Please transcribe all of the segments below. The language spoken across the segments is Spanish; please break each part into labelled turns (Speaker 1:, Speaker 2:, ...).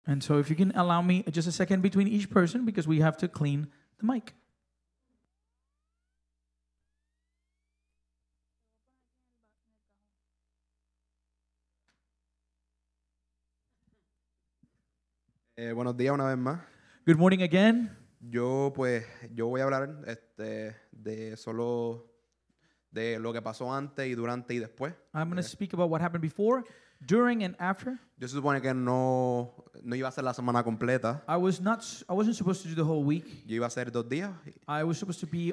Speaker 1: And so if you can allow me just a second between each person because we have to clean the mic.
Speaker 2: Buenos días una vez más.
Speaker 1: Good morning again.
Speaker 2: Yo voy a hablar de lo que pasó antes y durante y después.
Speaker 1: I'm going to speak about what happened before, during, and after.
Speaker 2: Yo se supone que no iba a ser la semana completa.
Speaker 1: I wasn't supposed to do the whole week.
Speaker 2: Yo iba a hacer 2 días
Speaker 1: I was supposed to be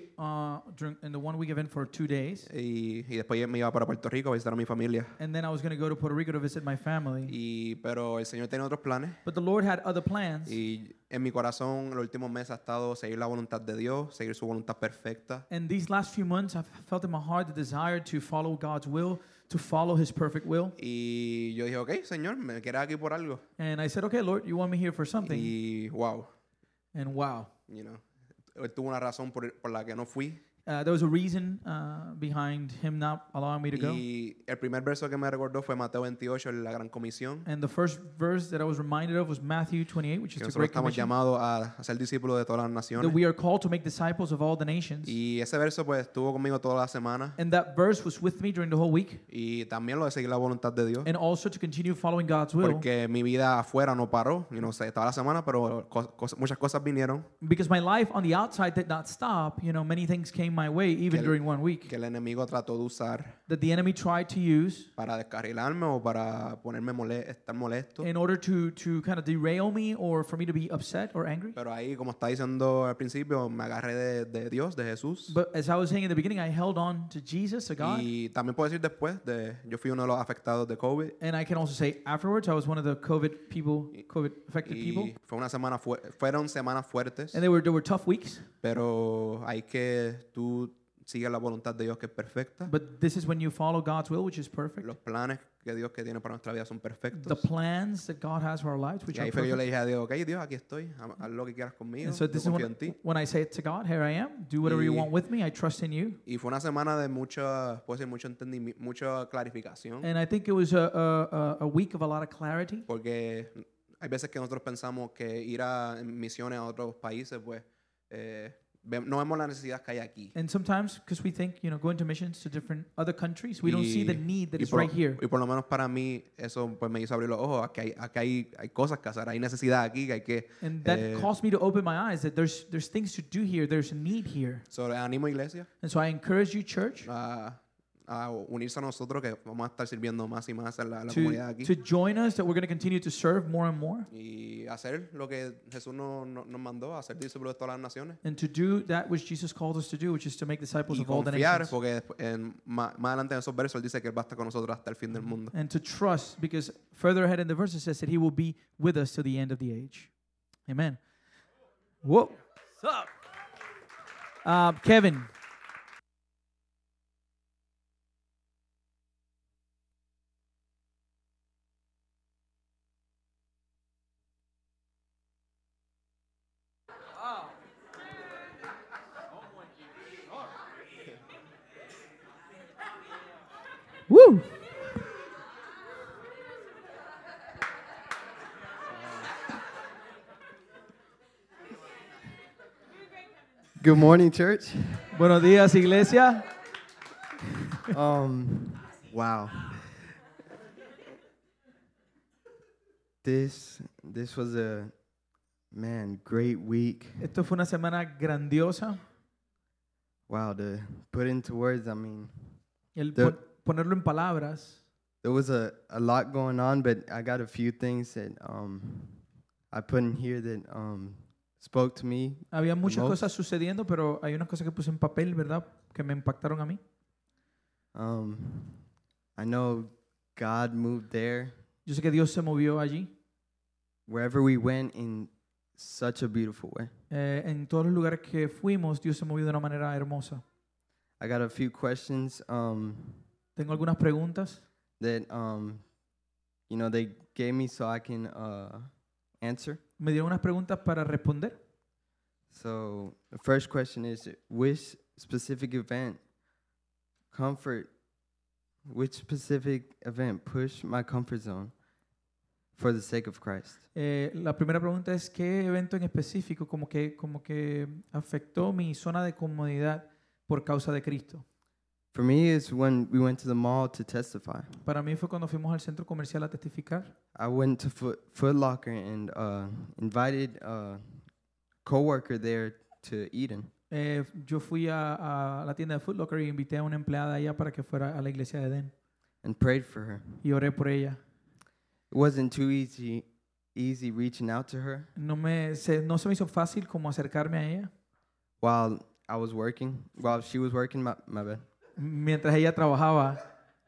Speaker 1: in the 1 week event for 2 days,
Speaker 2: y después me iba para Puerto Rico a visitar a mi familia.
Speaker 1: and then I was going to go to Puerto Rico to visit my family.
Speaker 2: Pero el Señor tenía otros planes
Speaker 1: But the Lord had other plans.
Speaker 2: y en mi corazón los últimos meses ha estado seguir la voluntad de Dios, seguir su voluntad perfecta.
Speaker 1: And these last few months, I've felt in my heart the desire to follow God's will, to follow His perfect will.
Speaker 2: Y yo dije, ok, Señor, me quieres aquí por algo.
Speaker 1: And I said, okay, Lord, you want me here for something?
Speaker 2: Y wow,
Speaker 1: And wow,
Speaker 2: you know, él tuvo una razón por la que no fui.
Speaker 1: there was a reason behind Him not allowing me to go.
Speaker 2: Y el primer verso que me recordó fue Mateo 28, en la Gran Comisión.
Speaker 1: And the first verse that I was reminded of was Matthew 28, which is
Speaker 2: Que
Speaker 1: the
Speaker 2: nosotros
Speaker 1: Great
Speaker 2: estamos
Speaker 1: Commission,
Speaker 2: llamados a ser discípulos de todas las
Speaker 1: that
Speaker 2: naciones.
Speaker 1: we are called to make disciples of all the nations.
Speaker 2: Y ese verso pues estuvo conmigo toda la semana.
Speaker 1: And that verse was with me during the whole week,
Speaker 2: Y también lo de seguir la voluntad de Dios.
Speaker 1: and also to continue following God's will.
Speaker 2: Porque mi vida afuera no paró. Y no sé, estaba la semana, pero muchas cosas vinieron
Speaker 1: Because my life on the outside did not stop. Many things came my way, even during 1 week,
Speaker 2: que el enemigo trató de usar
Speaker 1: that the enemy tried to use
Speaker 2: para descarrilarme o para ponerme estar molesto.
Speaker 1: in order to kind of derail me or for me to be upset or angry.
Speaker 2: Pero ahí, como está diciendo al principio, me agarré de Dios, de Jesús.
Speaker 1: But as I was saying in the beginning, I held on to Jesus, to God.
Speaker 2: Y también puedo decir después, yo fui uno de los afectados de COVID.
Speaker 1: And I can also say afterwards, I was one of the COVID affected people.
Speaker 2: Y fue una semana fueron semanas fuertes,
Speaker 1: And there were tough weeks.
Speaker 2: pero hay que tú sigues la voluntad de Dios que es perfecta.
Speaker 1: But this is when you follow God's will, which is perfect.
Speaker 2: Los planes que Dios que tiene para nuestra vida son
Speaker 1: The
Speaker 2: perfectos.
Speaker 1: plans that God has for our lives, which
Speaker 2: Y
Speaker 1: are
Speaker 2: ahí fue que yo le
Speaker 1: perfect.
Speaker 2: dije a Dios, ok, Dios, aquí estoy, haz lo que quieras conmigo,
Speaker 1: And so
Speaker 2: yo
Speaker 1: this is
Speaker 2: confío en ti.
Speaker 1: when I say it to God, here I am. Do whatever you
Speaker 2: Y-
Speaker 1: want with me. I trust in you.
Speaker 2: Y fue una semana de puede ser mucho entendimiento, mucha clarificación,
Speaker 1: And I think it was a week of a lot of clarity.
Speaker 2: porque hay veces que nosotros pensamos que ir en misiones a otros países, pues no vemos la necesidad que hay aquí.
Speaker 1: And sometimes, because we think, going to missions to different other countries, we don't see the need that
Speaker 2: y
Speaker 1: is
Speaker 2: por,
Speaker 1: right here.
Speaker 2: y por lo menos para mí eso pues me hizo abrir los ojos. Aquí hay cosas que hacer, hay necesidad aquí que hay que...
Speaker 1: And that caused me to open my eyes that there's things to do here. There's a need here.
Speaker 2: So, animo iglesia
Speaker 1: And so I encourage you, church,
Speaker 2: a unirse a nosotros, que vamos a estar sirviendo más y más en la comunidad aquí.
Speaker 1: to join us, that we're going to continue to serve more and more,
Speaker 2: Y hacer lo que Jesús nos mandó, a ser discípulos de todas las naciones.
Speaker 1: and to do that which Jesus called us to do, which is to make disciples
Speaker 2: Y
Speaker 1: of all the
Speaker 2: confiar,
Speaker 1: nations.
Speaker 2: porque más adelante en esos versos él dice que él va a estar con nosotros hasta el fin del mundo.
Speaker 1: And to trust, because further ahead in the verse it says that He will be with us to the end of the age. Amen. Whoa. What's up? Kevin. Woo!
Speaker 3: Good morning, church.
Speaker 1: Buenos días, iglesia.
Speaker 3: Wow. This was a great week.
Speaker 1: Esto fue una semana grandiosa.
Speaker 3: Wow, to put into words, I mean,
Speaker 1: El
Speaker 3: The-
Speaker 1: ponerlo en palabras.
Speaker 3: there was a lot going on, but I got a few things that I put in here that spoke to me.
Speaker 1: Había muchas
Speaker 3: most.
Speaker 1: cosas sucediendo, pero hay unas cosas que puse en papel, ¿verdad? Que me impactaron a mí.
Speaker 3: I know God moved there.
Speaker 1: Yo sé que Dios se movió allí.
Speaker 3: Wherever we went in such a beautiful way.
Speaker 1: En todos los lugares que fuimos, Dios se movió de una manera hermosa.
Speaker 3: I got a few questions
Speaker 1: Tengo algunas preguntas
Speaker 3: that they gave me so I can answer.
Speaker 1: me dieron unas preguntas para responder.
Speaker 3: So the first question is, which specific event pushed my comfort zone for the sake of Christ?
Speaker 1: La primera pregunta es ¿qué evento en específico como que afectó mi zona de comodidad por causa de Cristo?
Speaker 3: For me, it's when we went to the mall to testify.
Speaker 1: Para mí fue cuando fuimos al centro comercial a testificar.
Speaker 3: I went to Foot Locker and invited a coworker there to Eden.
Speaker 1: Yo fui a la tienda de Foot Locker y invité a una empleada allá para que fuera a la iglesia de Edén
Speaker 3: And prayed for her.
Speaker 1: y oré por ella.
Speaker 3: It wasn't too easy reaching out to her
Speaker 1: No se me hizo fácil como acercarme a ella
Speaker 3: while she was working. My bad.
Speaker 1: mientras ella trabajaba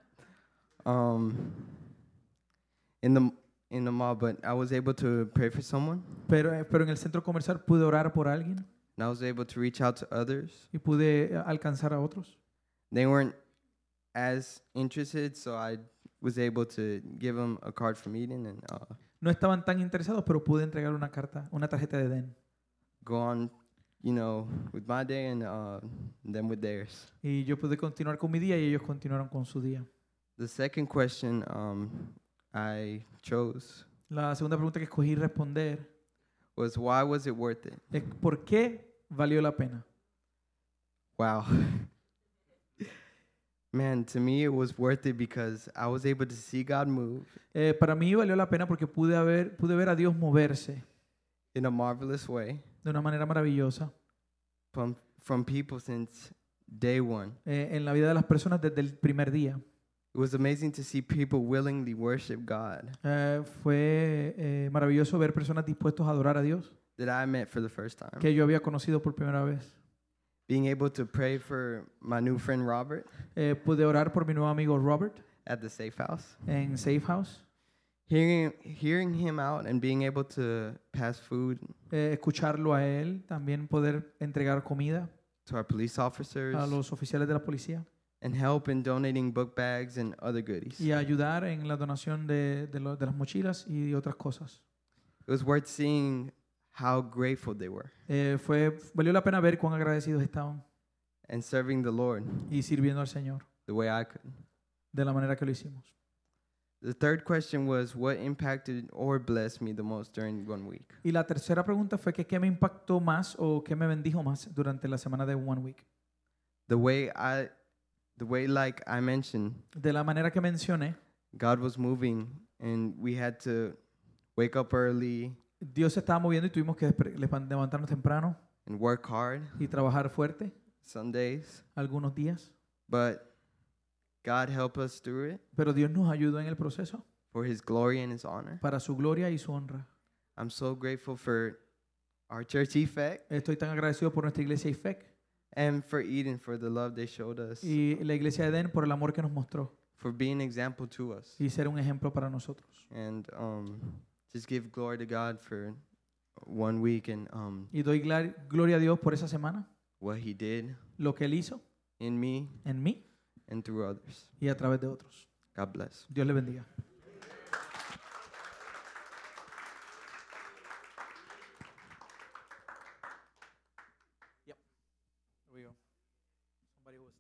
Speaker 3: In the mall, but I was able to pray for someone,
Speaker 1: pero en el centro comercial pude orar por alguien
Speaker 3: and I was able to reach out to others.
Speaker 1: y pude alcanzar a otros.
Speaker 3: They weren't as interested, so I was able to give them a card from Eden and
Speaker 1: No estaban tan interesados, pero pude entregar una tarjeta de Edén.
Speaker 3: go on, with my day and them with theirs.
Speaker 1: Y yo pude continuar con mi día y ellos continuaron con su día.
Speaker 3: The second question I chose
Speaker 1: La segunda pregunta que escogí responder
Speaker 3: was, why was it worth it?
Speaker 1: es ¿por qué valió la pena?
Speaker 3: Wow. Man, to me it was worth it because I was able to see God move
Speaker 1: Para mí valió la pena porque pude ver a Dios moverse
Speaker 3: in a marvelous way
Speaker 1: de una manera maravillosa
Speaker 3: from people since day one.
Speaker 1: en la vida de las personas desde el primer día.
Speaker 3: It was amazing to see people willingly worship God
Speaker 1: Fue maravilloso ver personas dispuestas a adorar a Dios
Speaker 3: that I met for the first time.
Speaker 1: que yo había conocido por primera vez.
Speaker 3: Being able to pray for my new friend Robert
Speaker 1: Pude orar por mi nuevo amigo Robert
Speaker 3: at the Safe House.
Speaker 1: en Safe House.
Speaker 3: Hearing him out and being able to pass food
Speaker 1: Escucharlo a él, también poder entregar comida
Speaker 3: to our police officers
Speaker 1: a los oficiales de la policía
Speaker 3: and help in donating book bags and other goodies.
Speaker 1: y ayudar en la donación de las mochilas y otras cosas.
Speaker 3: It was worth seeing how grateful they were
Speaker 1: Valió la pena ver cuán agradecidos estaban
Speaker 3: and serving the Lord
Speaker 1: y sirviendo al Señor
Speaker 3: the way I could.
Speaker 1: de la manera que lo hicimos.
Speaker 3: The third question was, what impacted or blessed me the most during 1 week?
Speaker 1: Y la tercera pregunta fue que qué me impactó más o qué me bendijo más durante la semana de One Week.
Speaker 3: The way like I mentioned,
Speaker 1: De la manera que mencioné,
Speaker 3: God was moving and we had to wake up early
Speaker 1: Dios se estaba moviendo y tuvimos que levantarnos temprano
Speaker 3: and work hard
Speaker 1: y trabajar fuerte
Speaker 3: some days,
Speaker 1: algunos días.
Speaker 3: but God helped us through it
Speaker 1: Pero Dios nos ayudó en el proceso
Speaker 3: for His glory and His honor.
Speaker 1: para su gloria y su honra.
Speaker 3: I'm so grateful for our church Effect
Speaker 1: Estoy tan agradecido por nuestra iglesia IFEC
Speaker 3: and for Eden for the love they showed us,
Speaker 1: y la iglesia de Edén por el amor que nos mostró
Speaker 3: for being an example to us,
Speaker 1: y ser un ejemplo para nosotros.
Speaker 3: and just give glory to God for 1 week and
Speaker 1: Y doy gloria a Dios por esa semana,
Speaker 3: what He did
Speaker 1: lo que Él hizo
Speaker 3: in me
Speaker 1: en mí
Speaker 3: and through others.
Speaker 1: y a través de otros.
Speaker 3: God bless.
Speaker 1: Dios le bendiga. Yep. There we go. Somebody was.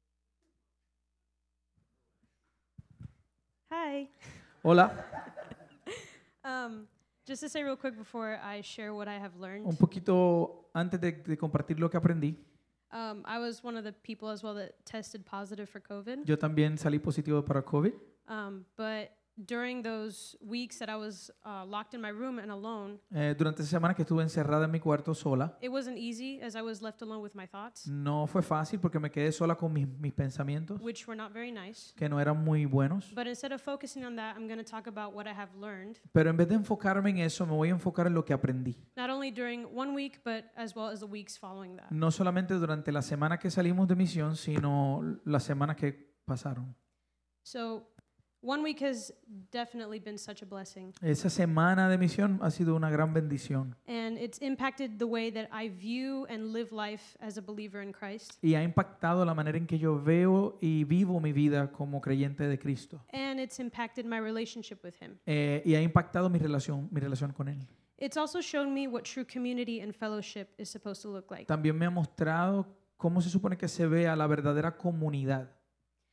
Speaker 4: Hi.
Speaker 1: Hola.
Speaker 4: Just to say real quick before I share what I have learned,
Speaker 1: Un poquito antes de compartir lo que aprendí,
Speaker 4: I was one of the people as well that tested positive for COVID.
Speaker 1: yo también salí positivo para COVID,
Speaker 4: But during those weeks that I was locked in my room and alone,
Speaker 1: durante esa semana que estuve encerrada en mi cuarto sola.
Speaker 4: it wasn't easy as I was left alone with my thoughts,
Speaker 1: No fue fácil porque me quedé sola con mis pensamientos,
Speaker 4: which were not very nice.
Speaker 1: que no eran muy buenos.
Speaker 4: But instead of focusing on that, I'm going to talk about what I have learned,
Speaker 1: Pero en vez de enfocarme en eso, me voy a enfocar en lo que aprendí.
Speaker 4: not only during 1 week, but as well as the weeks following that.
Speaker 1: No solamente durante la semana que salimos de misión, sino las semanas que pasaron.
Speaker 4: So 1 week has definitely been such a blessing.
Speaker 1: Esa semana de misión ha sido una gran bendición
Speaker 4: And it's impacted the way that I view and live life as a believer in Christ.
Speaker 1: y ha impactado la manera en que yo veo y vivo mi vida como creyente de Cristo.
Speaker 4: And it's impacted my relationship with Him.
Speaker 1: Y ha impactado mi relación con Él.
Speaker 4: It's also shown me what true community and fellowship is supposed to look like.
Speaker 1: También me ha mostrado cómo se supone que se vea la verdadera comunidad.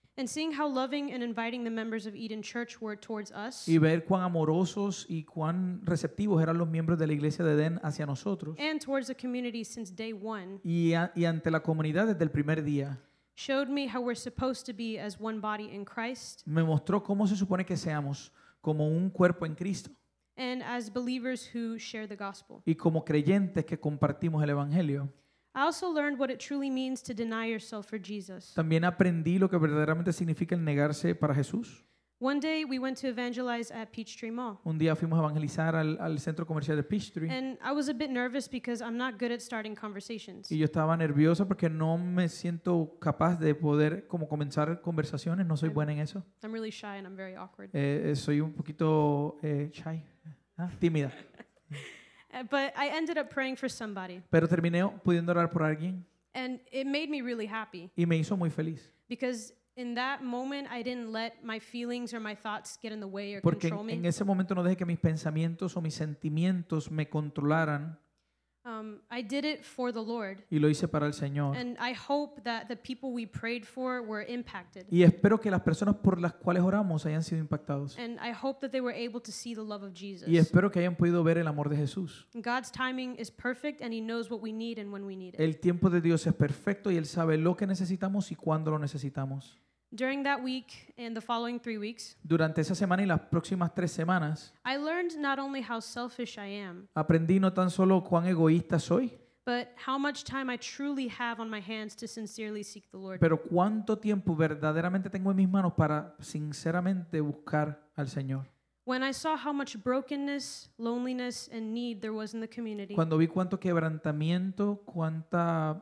Speaker 4: And seeing how loving and inviting the members of Eden Church were towards us
Speaker 1: y ver cuán amorosos y cuán receptivos eran los miembros de la iglesia de Edén hacia nosotros
Speaker 4: and towards the community since day one
Speaker 1: y ante la comunidad desde el primer día,
Speaker 4: showed me how we're supposed to be as one body in Christ
Speaker 1: me mostró cómo se supone que seamos como un cuerpo en Cristo
Speaker 4: and as believers who share the gospel.
Speaker 1: y como creyentes que compartimos el Evangelio.
Speaker 4: I also learned what it truly means to deny yourself for Jesus.
Speaker 1: También aprendí lo que verdaderamente significa el negarse para Jesús.
Speaker 4: One day we went to evangelize at Peachtree Mall.
Speaker 1: Un día fuimos a evangelizar al centro comercial de Peachtree
Speaker 4: And I was a bit nervous because I'm not good at starting conversations.
Speaker 1: y yo estaba nervioso porque no me siento capaz de poder como comenzar conversaciones, no soy buena en eso.
Speaker 4: I'm really shy and I'm very awkward.
Speaker 1: Soy un poquito shy, tímida.
Speaker 4: But I ended up praying for somebody.
Speaker 1: Pero terminé pudiendo orar por alguien
Speaker 4: And it made me really happy
Speaker 1: y me hizo muy feliz.
Speaker 4: because in that moment I didn't let my feelings or my thoughts get in the way or
Speaker 1: Porque
Speaker 4: control
Speaker 1: en
Speaker 4: me.
Speaker 1: ese momento no dejé que mis pensamientos o mis sentimientos me controlaran
Speaker 4: I did it for the Lord.
Speaker 1: y lo hice para el Señor.
Speaker 4: And I hope that the people we prayed for were impacted.
Speaker 1: Y espero que las personas por las cuales oramos hayan sido impactados.
Speaker 4: And I hope that they were able to see the love of Jesus.
Speaker 1: Y espero que hayan podido ver el amor de Jesús.
Speaker 4: God's timing is perfect and He knows what we need and when we need it.
Speaker 1: El tiempo de Dios es perfecto y Él sabe lo que necesitamos y cuándo lo necesitamos.
Speaker 4: During that week and the following 3 weeks,
Speaker 1: Durante esa semana y las próximas 3 semanas
Speaker 4: I learned not only how selfish I am,
Speaker 1: aprendí no tan solo cuán egoísta soy,
Speaker 4: but how much time I truly have on my hands to sincerely seek the Lord.
Speaker 1: pero cuánto tiempo verdaderamente tengo en mis manos para sinceramente buscar al Señor.
Speaker 4: When I saw how much brokenness, loneliness, and need there was in the community,
Speaker 1: Cuando vi cuánto quebrantamiento, cuánta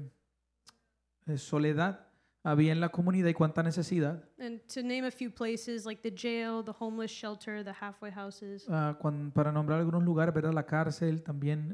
Speaker 1: soledad había en la comunidad y cuánta necesidad,
Speaker 4: and to name a few places like the jail, the homeless shelter, the halfway houses,
Speaker 1: para nombrar algunos lugares, ¿verdad? La cárcel, también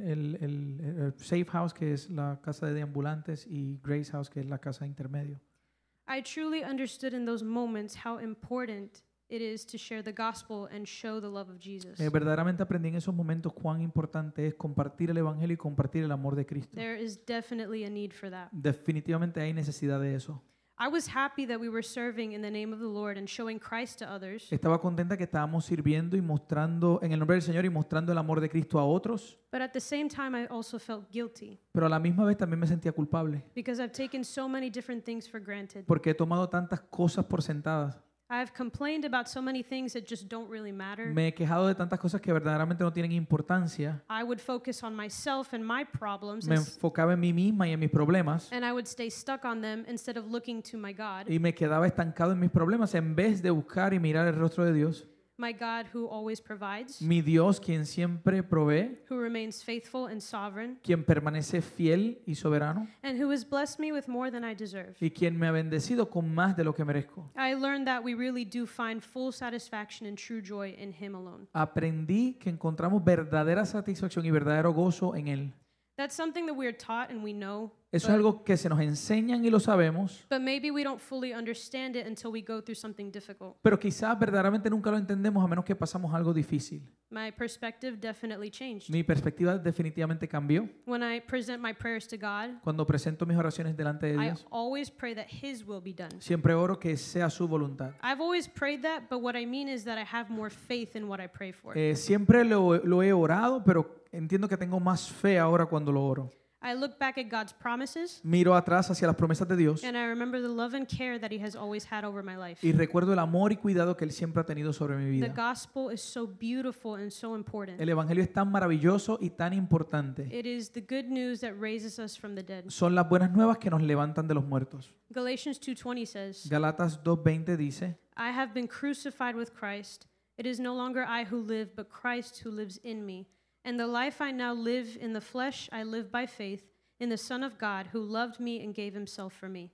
Speaker 1: el Safe House, que es la casa de ambulantes, y Grace House, que es la casa intermedio.
Speaker 4: I truly understood in those moments how important it is to share the gospel and show the love of Jesus.
Speaker 1: Verdaderamente aprendí en esos momentos cuán importante es compartir el Evangelio y compartir el amor de Cristo.
Speaker 4: There is definitely a need for that.
Speaker 1: Definitivamente hay necesidad de eso.
Speaker 4: I was happy that we were serving in the name of the Lord and showing Christ to others.
Speaker 1: Estaba contenta que estábamos sirviendo y mostrando en el nombre del Señor y mostrando el amor de Cristo a otros,
Speaker 4: But at the same time, I also felt guilty
Speaker 1: pero a la misma vez también me sentía culpable
Speaker 4: because I've taken so many different things for granted.
Speaker 1: porque he tomado tantas cosas por sentadas.
Speaker 4: I've complained about so many things that just don't really matter.
Speaker 1: Me he quejado de tantas cosas que verdaderamente no tienen importancia.
Speaker 4: I would focus on myself and my problems
Speaker 1: Me enfocaba en mí misma y en mis problemas
Speaker 4: and I would stay stuck on them instead of looking to my God,
Speaker 1: y me quedaba estancado en mis problemas en vez de buscar y mirar el rostro de Dios.
Speaker 4: my God who always provides,
Speaker 1: Mi Dios, quien siempre provee,
Speaker 4: who remains faithful and sovereign,
Speaker 1: quien permanece fiel y soberano
Speaker 4: and who has blessed me with more than I deserve.
Speaker 1: y quien me ha bendecido con más de lo que merezco.
Speaker 4: I learned that we really do find full satisfaction and true joy in Him alone.
Speaker 1: Aprendí que encontramos verdadera satisfacción y verdadero gozo en Él.
Speaker 4: That's something that we are taught and we know,
Speaker 1: Eso es algo que se nos enseñan y lo sabemos,
Speaker 4: but maybe we don't fully understand it until we go through something difficult.
Speaker 1: pero quizás verdaderamente nunca lo entendemos a menos que pasamos algo difícil.
Speaker 4: My perspective definitely changed.
Speaker 1: Mi perspectiva definitivamente cambió.
Speaker 4: When I present my prayers to God,
Speaker 1: Cuando presento mis oraciones delante de
Speaker 4: I
Speaker 1: Dios,
Speaker 4: always pray that His will be done.
Speaker 1: siempre oro que sea su voluntad.
Speaker 4: I've always prayed that, but what I mean is that I have more faith in what I pray for.
Speaker 1: Siempre lo he orado, pero entiendo que tengo más fe ahora cuando lo oro.
Speaker 4: I look back at God's promises,
Speaker 1: Miro atrás hacia las promesas de Dios
Speaker 4: and I remember the love and care that He has always had over my life.
Speaker 1: y recuerdo el amor y cuidado que Él siempre ha tenido sobre mi
Speaker 4: The
Speaker 1: vida.
Speaker 4: gospel is so beautiful and so important.
Speaker 1: El Evangelio es tan maravilloso y tan importante.
Speaker 4: It is the good news that raises us from the dead.
Speaker 1: Son las buenas nuevas que nos levantan de los muertos.
Speaker 4: Galatians 2:20 says,
Speaker 1: Galatas 2:20 dice,
Speaker 4: I have been crucified with Christ. It is no longer I who live, but Christ who lives in me. And the life I now live in the flesh, I live by faith in the Son of God who loved me and gave Himself for me.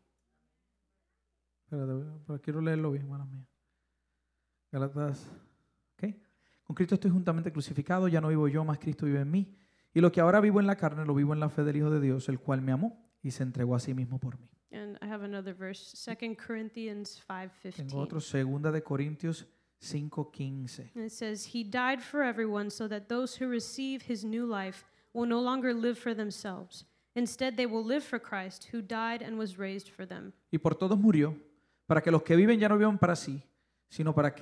Speaker 1: espérate, pero quiero leerlo bien, manos mías. Galatas, ¿ok? Con Cristo estoy juntamente crucificado, ya no vivo yo, más Cristo vive en mí. Y lo que ahora vivo en la carne, lo vivo en la fe del Hijo de Dios, el cual me amó y se entregó a sí mismo por mí.
Speaker 4: And I have another verse, 2 Corinthians
Speaker 1: Tengo otro,
Speaker 4: 5:15.
Speaker 1: 2 de Corintios 5:15.
Speaker 4: And it says, He died for everyone so that those who receive His new life will no longer live for themselves. Instead, they will live for Christ, who died and was raised for them.
Speaker 1: Y por todos murió, para que los que viven ya no vivan para sí, sino para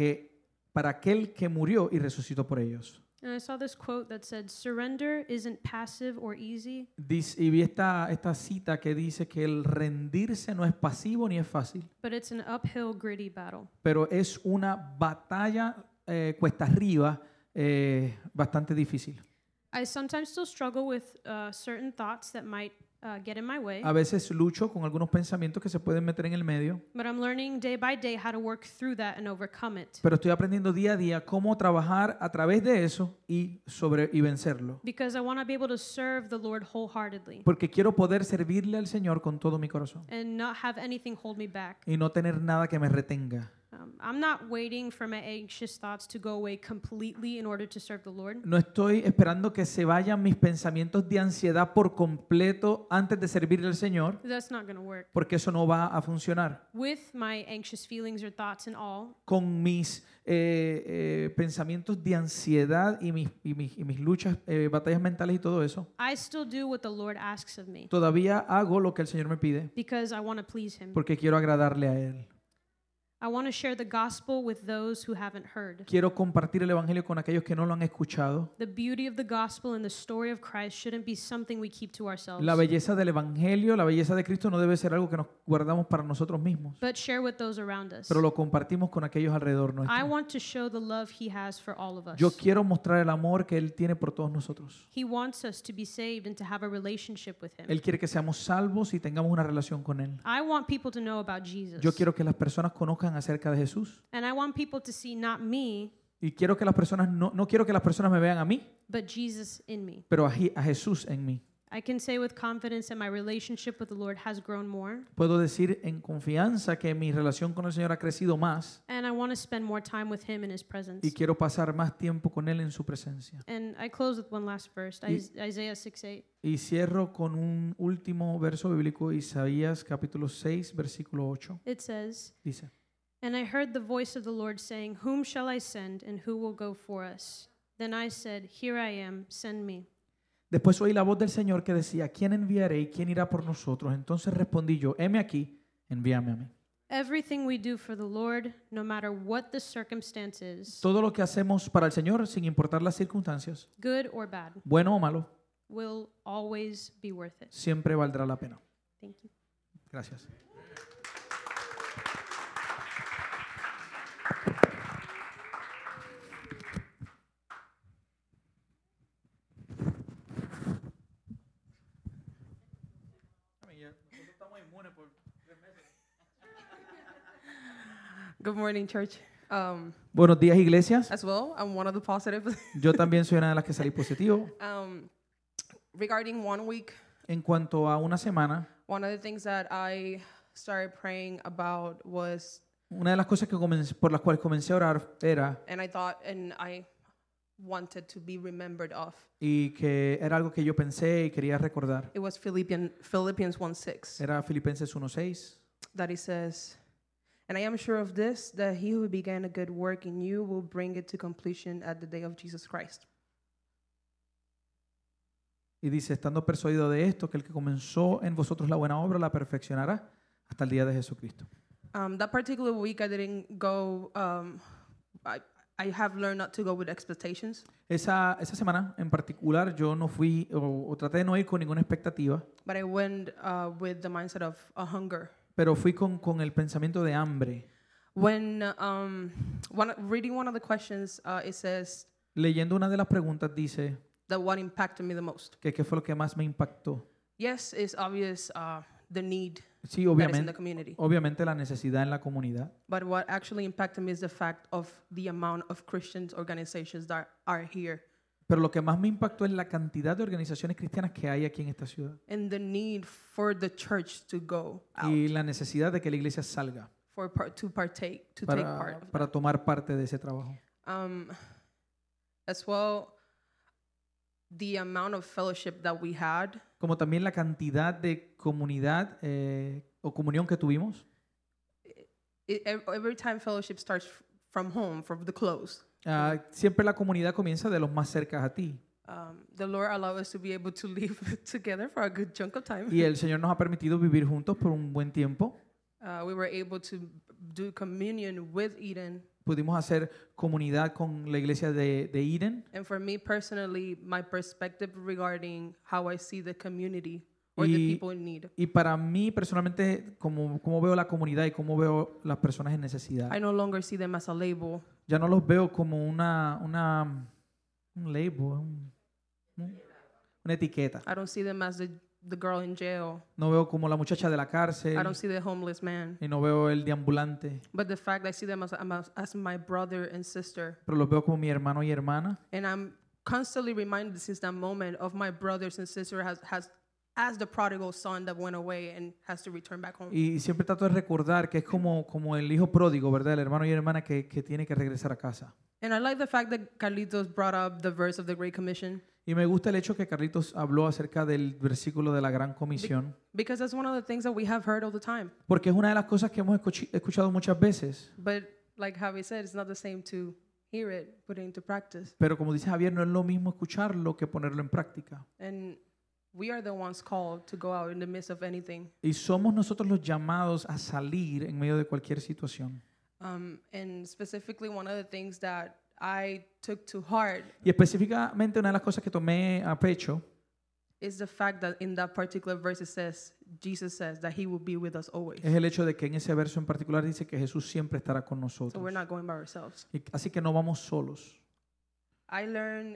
Speaker 1: aquel que murió y resucitó por ellos.
Speaker 4: And I saw this quote that said, "Surrender isn't passive or easy,
Speaker 1: Y vi esta cita que dice que el rendirse no es pasivo ni es fácil,
Speaker 4: but it's an uphill, gritty battle."
Speaker 1: pero es una batalla cuesta arriba bastante difícil.
Speaker 4: I sometimes still struggle with certain thoughts that might get in my way,
Speaker 1: A veces lucho con algunos pensamientos que se pueden meter en el medio,
Speaker 4: but I'm learning day by day how to work through that and overcome it.
Speaker 1: pero estoy aprendiendo día a día cómo trabajar a través de eso y vencerlo.
Speaker 4: Because I want to be able to serve the Lord wholeheartedly
Speaker 1: Porque quiero poder servirle al Señor con todo mi corazón
Speaker 4: and not have anything hold me back.
Speaker 1: y no tener nada que me retenga.
Speaker 4: I'm not waiting for my anxious thoughts to go away completely in order to serve the Lord.
Speaker 1: No estoy esperando que se vayan mis pensamientos de ansiedad por completo antes de servirle al Señor,
Speaker 4: That's not going to work.
Speaker 1: porque eso no va a funcionar.
Speaker 4: With my anxious feelings or thoughts and all,
Speaker 1: Con mis pensamientos de ansiedad y mis luchas, batallas mentales y todo eso,
Speaker 4: I still do what the Lord asks of me
Speaker 1: todavía hago lo que el Señor me pide
Speaker 4: because I want to please Him.
Speaker 1: porque quiero agradarle a Él.
Speaker 4: I want to share the gospel with those who haven't heard.
Speaker 1: Quiero compartir el Evangelio con aquellos que no lo han escuchado.
Speaker 4: The beauty of the gospel and the story of Christ shouldn't be something we keep to ourselves,
Speaker 1: La belleza del Evangelio, la belleza de Cristo no debe ser algo que nos guardamos para nosotros mismos,
Speaker 4: but share with those around us.
Speaker 1: pero lo compartimos con aquellos alrededor
Speaker 4: I
Speaker 1: nuestro.
Speaker 4: want to show the love He has for all of us.
Speaker 1: Yo quiero mostrar el amor que Él tiene por todos nosotros.
Speaker 4: He wants us to be saved and to have a relationship with Him.
Speaker 1: Él quiere que seamos salvos y tengamos una relación con Él.
Speaker 4: I want people to know about Jesus.
Speaker 1: Yo quiero que las personas conozcan acerca de Jesús.
Speaker 4: And I want people to see not me,
Speaker 1: Y quiero que las personas, no quiero que las personas me vean a mí,
Speaker 4: but Jesus in me.
Speaker 1: pero a Jesús en mí.
Speaker 4: I can say with confidence that my relationship with the Lord has grown more,
Speaker 1: Puedo decir en confianza que mi relación con el Señor ha crecido más
Speaker 4: and I want to spend more time with Him in His presence.
Speaker 1: y quiero pasar más tiempo con Él en su presencia.
Speaker 4: And I close with one last verse, Isaiah 6:8.
Speaker 1: Y cierro con un último verso bíblico, Isaías capítulo 6, versículo 8.
Speaker 4: It says,
Speaker 1: Dice,
Speaker 4: "And I heard the voice of the Lord saying, 'Whom shall I send, and who will go for us?' Then I said, 'Here I am, send me.'"
Speaker 1: después oí la voz del Señor que decía, ¿quién enviaré y quién irá por nosotros? Entonces respondí yo, heme aquí, envíame a mí.
Speaker 4: Everything we do for the Lord, no matter what the circumstance is,
Speaker 1: Todo lo que hacemos para el Señor, sin importar las circunstancias,
Speaker 4: good or bad,
Speaker 1: bueno o malo,
Speaker 4: will always be worth it.
Speaker 1: siempre valdrá la pena.
Speaker 4: Thank you.
Speaker 1: Gracias.
Speaker 5: Good morning, church.
Speaker 1: Buenos días, iglesias.
Speaker 5: As well, I'm one of the positive.
Speaker 1: Yo también soy una de las que salí positivo.
Speaker 5: Regarding 1 week,
Speaker 1: En cuanto a una semana,
Speaker 5: one of the things that I started praying about was,
Speaker 1: una de las cosas por las cuales comencé a orar era,
Speaker 5: and I wanted to be remembered of,
Speaker 1: y que era algo que yo pensé y quería recordar,
Speaker 5: it was Philippians 1:6,
Speaker 1: era Filipenses 1:6,
Speaker 5: that it says, "And I am sure of this, that he who began a good work in you will bring it to completion at the day of Jesus Christ."
Speaker 1: y dice, estando persuadido de esto, que el que comenzó en vosotros la buena obra la perfeccionará hasta el día de Jesucristo.
Speaker 5: That particular week, I didn't go. I have learned not to go with expectations,
Speaker 1: Esa semana en particular yo no fui o traté de no ir con ninguna expectativa,
Speaker 5: but I went with the mindset of a hunger.
Speaker 1: pero fui con el pensamiento de hambre.
Speaker 5: When reading one of the questions, it says
Speaker 1: Leyendo una de las preguntas dice
Speaker 5: that what impacted me the most.
Speaker 1: que qué fue lo que más me impactó.
Speaker 5: Yes, it's obvious the need
Speaker 1: Sí,
Speaker 5: that is in the
Speaker 1: obviamente,
Speaker 5: community,
Speaker 1: obviamente la necesidad en la comunidad,
Speaker 5: but what actually impacted me is the fact of the amount of Christians organizations that are here
Speaker 1: pero lo que más me impactó es la cantidad de organizaciones cristianas que hay aquí en esta ciudad
Speaker 5: and the need for the church to go out
Speaker 1: y la necesidad de que la iglesia salga
Speaker 5: to take part of
Speaker 1: para
Speaker 5: that.
Speaker 1: tomar parte de ese trabajo.
Speaker 5: As well, the amount of fellowship that we had,
Speaker 1: Como también la cantidad de comunidad o comunión que tuvimos.
Speaker 5: every time fellowship starts from home, from the close.
Speaker 1: Siempre la comunidad comienza de los más cerca a ti.
Speaker 5: The Lord allowed us to be able to live together for a good chunk of time.
Speaker 1: Y el Señor nos ha permitido vivir juntos por un buen tiempo.
Speaker 5: we were able to do communion with Eden.
Speaker 1: Pudimos hacer comunidad con la iglesia de Eden.
Speaker 5: And for me personally, my perspective regarding how I see the community or the
Speaker 1: Y,
Speaker 5: people in need.
Speaker 1: y para mí personalmente, como veo la comunidad y cómo veo las personas en necesidad,
Speaker 5: I no longer see them as a label.
Speaker 1: ya no los veo como un label, una etiqueta.
Speaker 5: I don't see them as the girl in jail.
Speaker 1: No veo como la muchacha de la
Speaker 5: I
Speaker 1: cárcel
Speaker 5: don't see the homeless man.
Speaker 1: y no veo el deambulante,
Speaker 5: But the fact I see them as my brother and sister.
Speaker 1: pero los veo como mi hermano y hermana.
Speaker 5: And I'm constantly reminded since that moment of my brothers and sisters as the prodigal son that went away and has to return back home.
Speaker 1: Y siempre trato de recordar que es como el hijo pródigo, ¿verdad? El hermano y hermana que tiene que regresar a casa.
Speaker 5: And I like the fact that Carlitos brought up the verse of the Great Commission
Speaker 1: Y me gusta el hecho que Carlitos habló acerca del versículo de la Gran Comisión,
Speaker 5: because that's one of the things that we have heard all the time.
Speaker 1: porque es una de las cosas que hemos escuchado muchas veces.
Speaker 5: But like Javi said, it's not the same to hear it, put it into practice.
Speaker 1: Pero como dice Javier, no es lo mismo escucharlo que ponerlo en práctica.
Speaker 5: And we are the ones called to go out in the midst of anything.
Speaker 1: Y somos nosotros los llamados a salir en medio de cualquier situación.
Speaker 5: And specifically, one of the things that I took to heart
Speaker 1: Y específicamente una de las cosas que tomé a pecho
Speaker 5: is the fact that in that particular verse it says, Jesus says that he will be with us always.
Speaker 1: es el hecho de que en ese verso en particular dice que Jesús siempre estará con
Speaker 5: So
Speaker 1: nosotros.
Speaker 5: we're not going by ourselves.
Speaker 1: Así que no vamos solos.
Speaker 5: I learned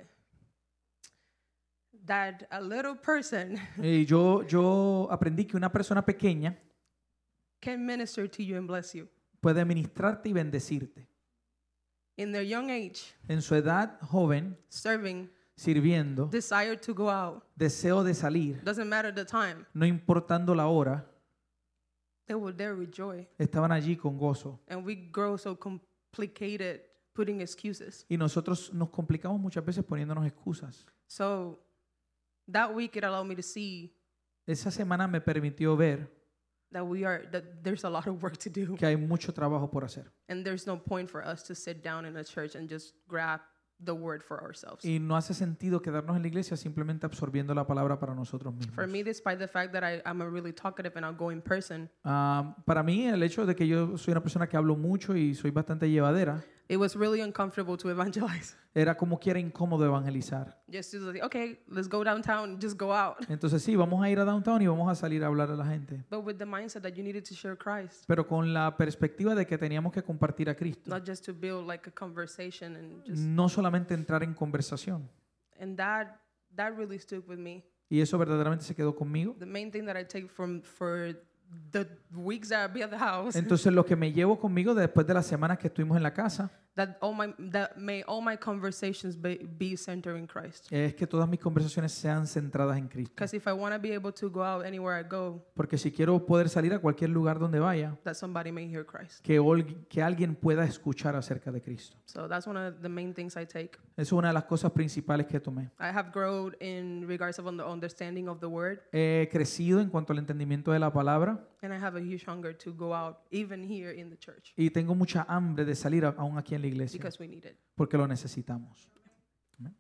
Speaker 5: that a little person
Speaker 1: Y yo aprendí que una persona pequeña
Speaker 5: can minister to you and bless you.
Speaker 1: puede ministrarte y bendecirte.
Speaker 5: In their young age,
Speaker 1: En su edad joven,
Speaker 5: serving,
Speaker 1: sirviendo,
Speaker 5: desire to go out,
Speaker 1: deseo de salir,
Speaker 5: doesn't matter the time,
Speaker 1: no importando la hora,
Speaker 5: they were there with joy.
Speaker 1: estaban allí con gozo.
Speaker 5: And we grow so complicated putting excuses.
Speaker 1: Y nosotros nos complicamos muchas veces poniéndonos excusas.
Speaker 5: So that week it allowed me to see
Speaker 1: Esa semana me permitió ver
Speaker 5: that there's a lot of work to do.
Speaker 1: que hay mucho trabajo por hacer.
Speaker 5: And there's no point for us to sit down in a church and just grab the word for ourselves.
Speaker 1: Y no hace sentido quedarnos en la iglesia simplemente absorbiendo la palabra para nosotros mismos.
Speaker 5: For me, despite the fact that I'm a really talkative and outgoing person,
Speaker 1: Para mí, el hecho de que yo soy una persona que hablo mucho y soy bastante llevadera,
Speaker 5: it was really uncomfortable to evangelize.
Speaker 1: era como que era incómodo evangelizar.
Speaker 5: Just to say, okay, let's go downtown, just go out.
Speaker 1: Entonces sí, vamos a ir a downtown y vamos a salir a hablar a la gente.
Speaker 5: But with the mindset that you needed to share Christ,
Speaker 1: Pero con la perspectiva de que teníamos que compartir a Cristo.
Speaker 5: not just to build like a conversation and just,
Speaker 1: No solamente entrar en conversación.
Speaker 5: and that really stuck with me.
Speaker 1: Y eso verdaderamente se quedó conmigo.
Speaker 5: The main thing that I take for the weeks that I'll be at the house,
Speaker 1: Entonces lo que me llevo conmigo después de las semanas que estuvimos en la casa
Speaker 5: that may all my conversations be centered in Christ.
Speaker 1: es que todas mis conversaciones sean centradas en Cristo.
Speaker 5: Because if I want to be able to go out anywhere I go,
Speaker 1: Porque si quiero poder salir a cualquier lugar donde vaya,
Speaker 5: that somebody may hear Christ.
Speaker 1: que alguien pueda escuchar acerca de Cristo.
Speaker 5: So that's one of the main things I take.
Speaker 1: Eso es una de las cosas principales que tomé.
Speaker 5: I have grown in regards of the understanding of the word,
Speaker 1: He crecido en cuanto al entendimiento de la palabra
Speaker 5: and I have a huge hunger to go out, even here in the church,
Speaker 1: y tengo mucha hambre de salir aún aquí en la iglesia
Speaker 5: because we need it.
Speaker 1: porque lo necesitamos. Amén.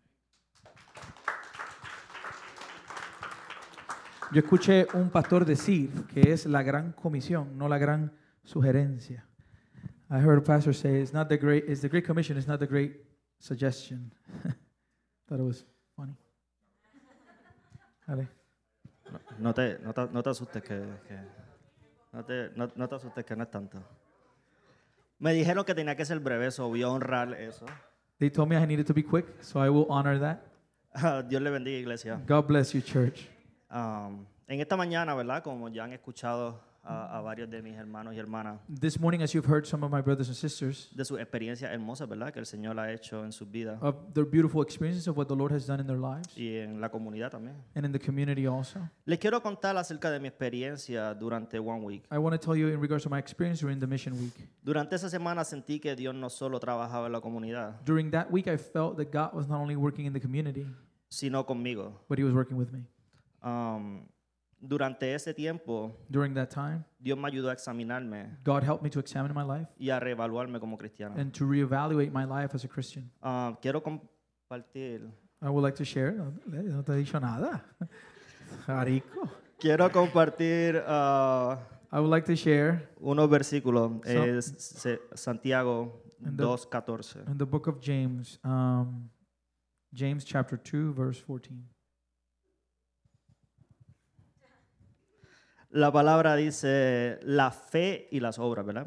Speaker 1: Yo escuché un pastor decir que es la gran comisión, no la gran sugerencia. I heard a pastor say it's the great commission, it's not the great suggestion. Thought it was funny. Vale.
Speaker 6: No te asustes no te asustes que no es tanto. Me dijeron que tenía que ser breve, so voy a honrar eso.
Speaker 1: They told me I needed to be quick, so I will honor that.
Speaker 6: Dios le bendiga, iglesia.
Speaker 1: God bless you, church.
Speaker 6: En esta mañana, ¿verdad? Como ya han escuchado a varios de mis hermanos y hermanas,
Speaker 1: This morning, as you've heard some of my brothers and sisters
Speaker 6: de sus experiencias hermosas, ¿verdad? Que el Señor ha hecho en sus vidas
Speaker 1: of their beautiful experiences of what the Lord has done in their lives
Speaker 6: y en la comunidad también.
Speaker 1: and in the community also.
Speaker 6: Les quiero contar acerca de mi experiencia durante One Week.
Speaker 1: I want to tell you in regards to my experience during the mission week.
Speaker 6: Durante esa semana sentí que Dios no solo trabajaba en la comunidad,
Speaker 1: During that week, I felt that God was not only working in the community,
Speaker 6: sino conmigo.
Speaker 1: but He was working with me.
Speaker 6: Durante ese tiempo,
Speaker 1: During that time,
Speaker 6: Dios me ayudó a examinarme
Speaker 1: God helped me to examine my life
Speaker 6: y a reevaluarme como cristiano.
Speaker 1: and to reevaluate my life as a Christian.
Speaker 6: Quiero compartir.
Speaker 1: I would like to share. No te he dicho nada. Jarico.
Speaker 6: Quiero compartir
Speaker 1: I would like to share
Speaker 6: unos versículos.
Speaker 1: So-
Speaker 6: Santiago
Speaker 1: In the-
Speaker 6: 2:14.
Speaker 1: in the book of James, James chapter 2, verse 14.
Speaker 6: La palabra dice la fe y las obras, ¿verdad?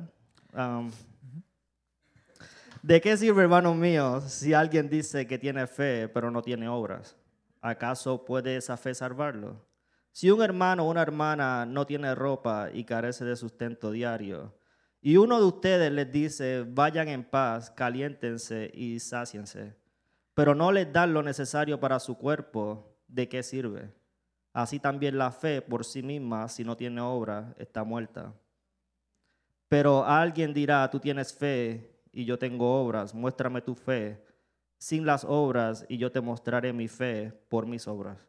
Speaker 6: ¿De qué sirve, hermanos míos, si alguien dice que tiene fe pero no tiene obras? ¿Acaso puede esa fe salvarlo? Si un hermano o una hermana no tiene ropa y carece de sustento diario, y uno de ustedes les dice, vayan en paz, caliéntense y sáciense, pero no les dan lo necesario para su cuerpo, ¿de qué sirve? Así también la fe por sí misma, si no tiene obra, está muerta. Pero alguien dirá, tú tienes fe y yo tengo obras, muéstrame tu fe sin las obras y yo te mostraré mi fe por mis obras.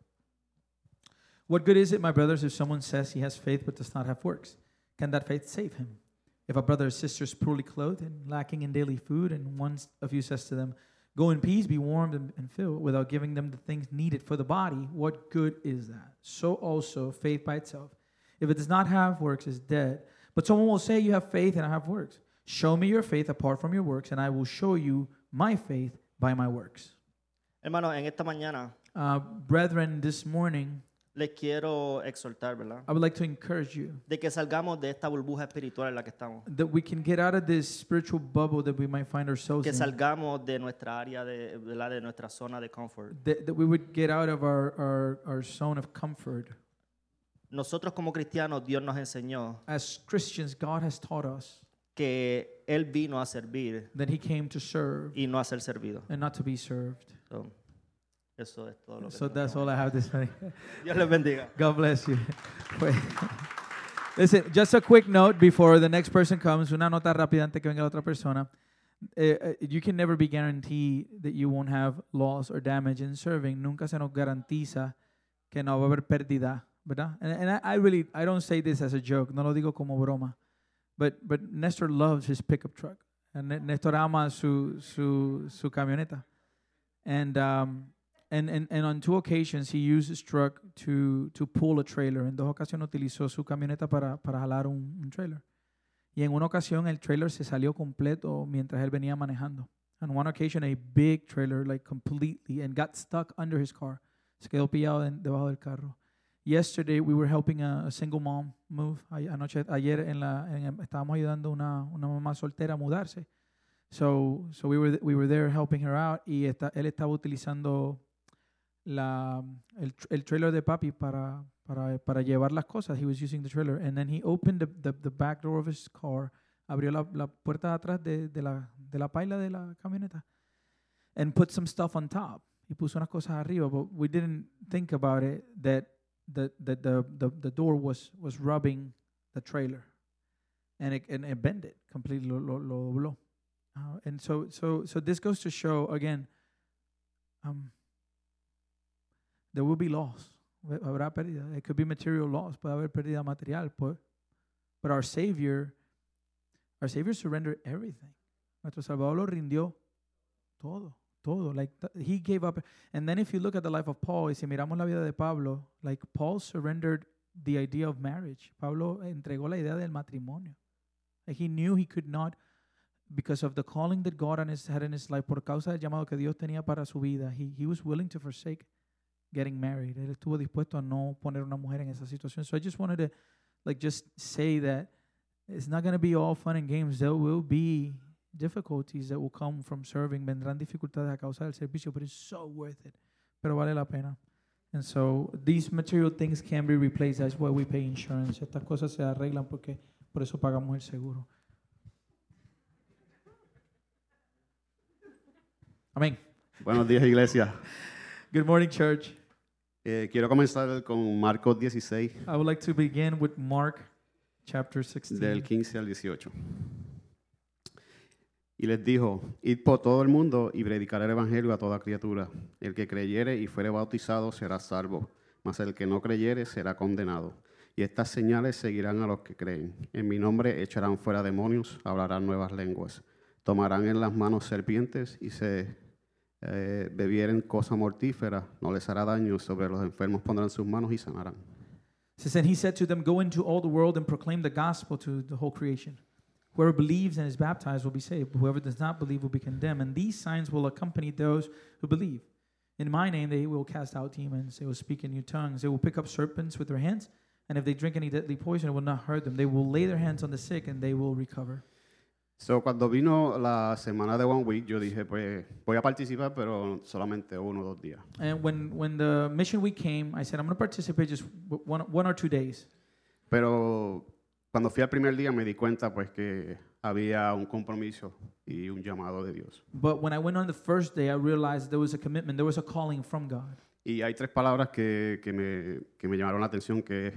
Speaker 1: What good is it, my brothers, if someone says he has faith but does not have works? Can that faith save him? If a brother or sister is poorly clothed and lacking in daily food, and one of you says to them, go in peace, be warmed and filled, without giving them the things needed for the body, what good is that? So also, faith by itself, if it does not have works, is dead. But someone will say, you have faith and I have works. Show me your faith apart from your works, and I will show you my faith by my works.
Speaker 6: Hermanos, en esta mañana
Speaker 1: Brethren, this morning,
Speaker 6: les quiero exhortar, ¿verdad?
Speaker 1: I would like to encourage you
Speaker 6: De que salgamos de esta burbuja espiritual en la que estamos.
Speaker 1: that we can get out of this spiritual bubble that we might find ourselves
Speaker 6: Que
Speaker 1: in.
Speaker 6: salgamos de nuestra área, ¿verdad? De nuestra zona de confort.
Speaker 1: That we would get out of our zone of comfort.
Speaker 6: Nosotros como cristianos, Dios nos enseñó
Speaker 1: As Christians, God has taught us
Speaker 6: que Él vino a servir
Speaker 1: that He came to serve
Speaker 6: y no a ser servido.
Speaker 1: and not to be served.
Speaker 6: So, eso es todo lo que
Speaker 1: So
Speaker 6: tengo
Speaker 1: that's
Speaker 6: que
Speaker 1: all I have this morning.
Speaker 6: Dios les bendiga.
Speaker 1: God bless you. Wait. Listen, just a quick note before the next person comes. Una nota rápida antes que venga la otra persona. You can never be guaranteed that you won't have loss or damage in serving. Nunca se nos garantiza que no va a haber pérdida, ¿verdad? And I don't say this as a joke. No lo digo como broma. But Nestor loves his pickup truck. And Nestor ama su camioneta. And on 2 occasions he used his truck to pull a trailer. En 2 ocasiones utilizó su camioneta para jalar un trailer. Y en una ocasión el trailer se salió completo mientras él venía manejando. On one occasion a big trailer like completely and got stuck under his car. Se quedó pillado debajo del carro. Yesterday we were helping a single mom move. Ayer estábamos ayudando a una mamá soltera a mudarse. So we were there helping her out y él estaba utilizando el trailer de papi para llevar las cosas. He was using the trailer and then he opened the back door of his car. Abrió la puerta de atrás de la paila de la camioneta and put some stuff on top. Y puso unas cosas arriba, but we didn't think about it that the door was rubbing the trailer and it bent it completely, lo dobló. And so this goes to show again, there will be loss. Habrá pérdida. It could be material loss. Puede haber pérdida material. But our Savior surrendered everything. Nuestro Salvador lo rindió todo. Like he gave up. And then if you look at the life of Paul, y si miramos la vida de Pablo, like Paul surrendered the idea of marriage. Pablo entregó la idea del matrimonio. Like he knew he could not, because of the calling that God had in his life, por causa del llamado que Dios tenía para su vida, he was willing to forsake getting married. Él estuvo dispuesto a no poner una mujer en esa situación. So I just wanted to just say that it's not going to be all fun and games. There will be difficulties that will come from serving. Vendrán dificultades a causa del servicio, but it's so worth it. Pero vale la pena. And so these material things can be replaced. That's why we pay insurance. Estas cosas se arreglan porque por eso pagamos el seguro. Amén.
Speaker 7: Buenos días, iglesia.
Speaker 1: Good morning, church.
Speaker 7: Quiero comenzar con Marcos 16,
Speaker 1: I would like to begin with Mark chapter 16.
Speaker 7: del 15 al 18. Y les dijo, id por todo el mundo y predicar el evangelio a toda criatura. El que creyere y fuere bautizado será salvo, mas el que no creyere será condenado. Y estas señales seguirán a los que creen. En mi nombre echarán fuera demonios, hablarán nuevas lenguas. Tomarán en las manos serpientes y se bebieren cosa mortífera, no les hará daño. Sobre los enfermos pondrán sus manos y sanarán.
Speaker 1: It says, and he said to them, go into all the world and proclaim the gospel to the whole creation. Whoever believes and is baptized will be saved. Whoever does not believe will be condemned. And these signs will accompany those who believe. In my name they will cast out demons. They will speak in new tongues. They will pick up serpents with their hands. And if they drink any deadly poison, it will not hurt them. They will lay their hands on the sick and they will recover.
Speaker 7: So, cuando vino la semana de One Week, yo dije, pues voy a participar, pero solamente 1 o 2 días.
Speaker 1: And when the mission week came, I said, I'm going to participate just one or 2 days.
Speaker 7: Pero cuando fui al primer día me di cuenta pues que había un compromiso y un llamado de Dios.
Speaker 1: But when I went on the first day, I realized there was a commitment, there was a calling from God.
Speaker 7: Y hay 3 palabras que me llamaron la atención, que